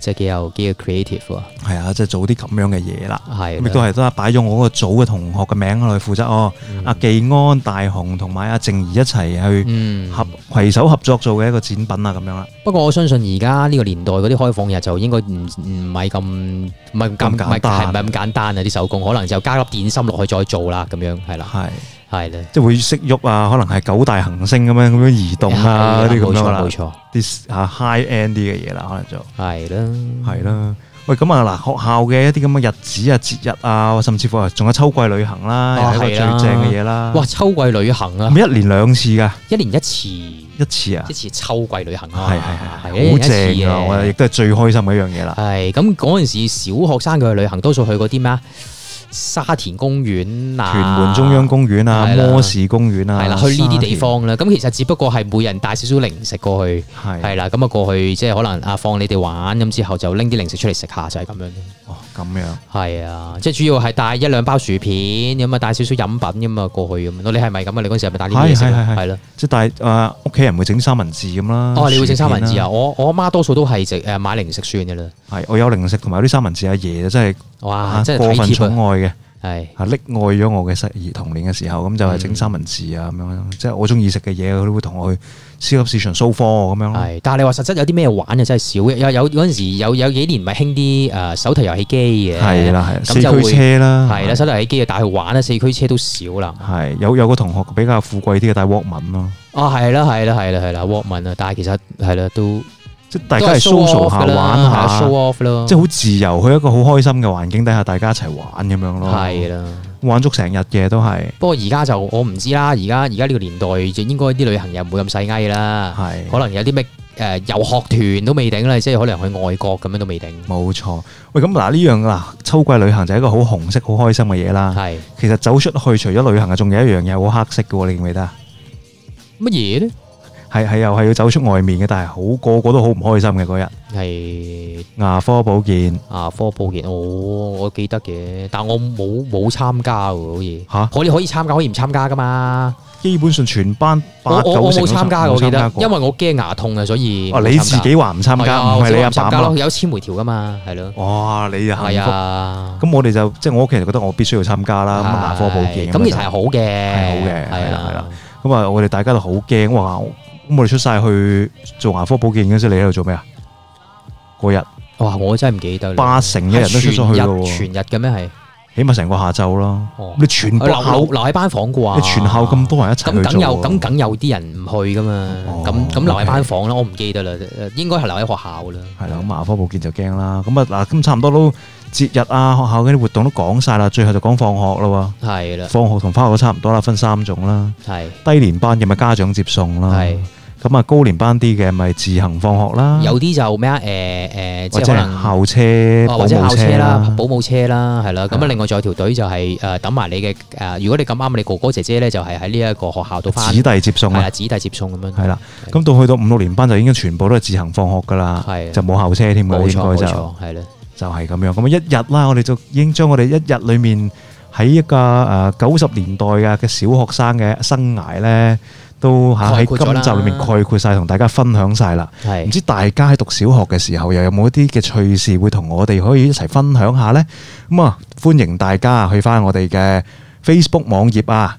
即係幾有 creative 喎。 係啊，即係做啲咁樣嘅嘢啦。 係咁亦都係都係擺咗我嗰個組嘅同學嘅名落去負責阿技安、大雄同埋阿靜怡一齊去攜手合作做嘅一個展品啊咁樣啦。 不過我相信而家呢個年代嗰啲開放日就應該唔係咁簡單啊！啲手工可能就加粒電芯落去再做啦，咁樣係啦，係咧，即係會識喐啊，可能係九大行星咁樣移動啊嗰啲咁樣啦， 冇錯， 啲high end 啲嘅嘢啦，可能就係啦。喂，咁啊嗱，學校嘅一啲咁嘅日子啊、節日啊，甚至乎仲有秋季旅行啦，又係一個最正嘅嘢啦。 哇，秋季旅行啊， 咪一年2次㗎， 一年一次啊，一次秋季旅行啊， 係好正啊！我亦都係最開心嘅一樣嘢啦。 係咁嗰陣時，小學生佢去旅行多數去嗰啲咩啊？沙田公園啊， 屯門中央公園啊，摩士公園啊， 係啦，去呢啲地方啦。咁其實只不過係每人帶少少零食過去，係啦，咁啊過去即係可能放你哋玩，咁之後就拎啲零食出嚟食下，就係咁樣。 哦，咁樣。係啊，即係主要係帶1-2包薯片，咁啊帶少少飲品咁啊過去咁。你係咪咁啊？你嗰陣時係咪帶呢啲嘢食？係咯，即係帶屋企人會整三文治咁啦。 哦，你會整三文治啊？我阿媽多數都係買零食算嘅啦。 係，我有零食同埋啲三文治，阿爺真係哇，真係過分寵愛嘅。 係溺愛咗我嘅童年嘅時候，咁就係整三文治啊咁樣，即係我中意食嘅嘢，佢都會同我去超級市場掃貨咁樣咯。係，但係你話實質有啲咩玩啊？真係少。有嗰陣時有幾年咪興啲手提遊戲機嘅。係啦，係四驅車啦。係啦，手提遊戲機帶去玩啦，四驅車都少啦。係有個同學比較富貴啲嘅帶 Walkman 咯。係啦Walkman啊，但係其實係啦都。即係大家係 social 下玩下 show off 咯，即係好自由，去一個好開心嘅環境底下，大家一齊玩咁樣咯。係啦，玩足成日嘅都係。不過而家就我唔知啦，而家呢個年代就應該啲旅行又唔會咁細翳啦。係，可能有啲咩遊學團都未定啦，即係可能去外國咁樣都未定。冇錯。喂，咁嗱呢樣嗱秋季旅行就係一個好紅色、好開心嘅嘢啦。係。其實走出去除咗旅行啊，仲有一樣嘢好黑色嘅喎，你記唔記得啊？乜嘢咧？係又係要走出外面嘅，但係個個都好唔開心嘅嗰日。係牙科保健，我記得嘅，但我冇參加喎，好似嚇。可以參加，可以唔參加噶嘛？基本上全班8-9成我冇參加，我記得，因為我驚牙痛啊，所以。你自己話唔參加，唔係你阿爸阿媽有簽回條噶嘛？係咯。哇！你又係啊？咁我哋就即係我屋企人覺得我必須要參加啦。咁牙科保健咁其實係好嘅，係啦。咁啊，我哋大家都好驚哇！咁我哋出晒去做牙科保健嗰時，你喺度做咩啊？嗰日哇，我真係唔記得。8成嘅人都出咗去咯，全日嘅咩係？起碼成個下晝咯。你全部留喺班房啩？你全校咁多人一齊去做，咁梗有啲人唔去噶嘛？咁留喺班房啦，我唔記得啦，應該係留喺學校啦。係啦，咁牙科保健就驚啦。咁啊嗱，咁差唔多都節日啊，學校嗰啲活動都講晒啦，最後就講放學啦。係啦，放學同翻學都差唔多啦，分3種啦。係低年班嘅咪家長接送啦。係。咁啊，高年班啲嘅咪自行放學啦。有啲就咩啊？即係可能校車、或者校車啦、保姆車啦，係啦。咁啊，另外仲有條隊就係等埋你嘅如果你咁啱，你哥哥姐姐咧就係喺呢一個學校度翻。子弟接送啊，子弟接送咁樣。係啦。咁到去到5-6年班就已經全部都係自行放學噶啦，就冇校車添㗎。冇錯，係啦，就係咁樣。咁啊，一日啦，我哋就已經將我哋一日裡面喺一個90年代嘅小學生嘅生涯咧，都喺今集裏面概括晒，同大家分享晒啦。唔知大家喺讀小學嘅時候，又有冇一啲嘅趣事會同我哋可以一齊分享下呢？咁啊，歡迎大家去翻我哋嘅 Facebook 網頁啊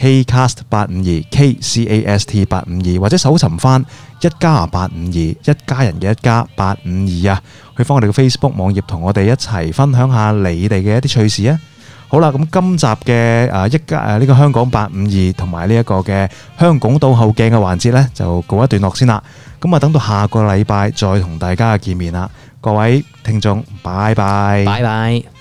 ，Kcast852 KCAST852，或者搜尋翻1+852一家人嘅1+852啊，去翻我哋嘅 Facebook 網頁，同我哋一齊分享下你哋嘅一啲趣事啊！好啦，咁今集嘅呢個香講852同埋呢一個嘅香港倒後鏡嘅環節呢，就告一段落先啦。咁啊，等到下個禮拜再同大家見面啦，各位聽眾，拜拜，拜拜。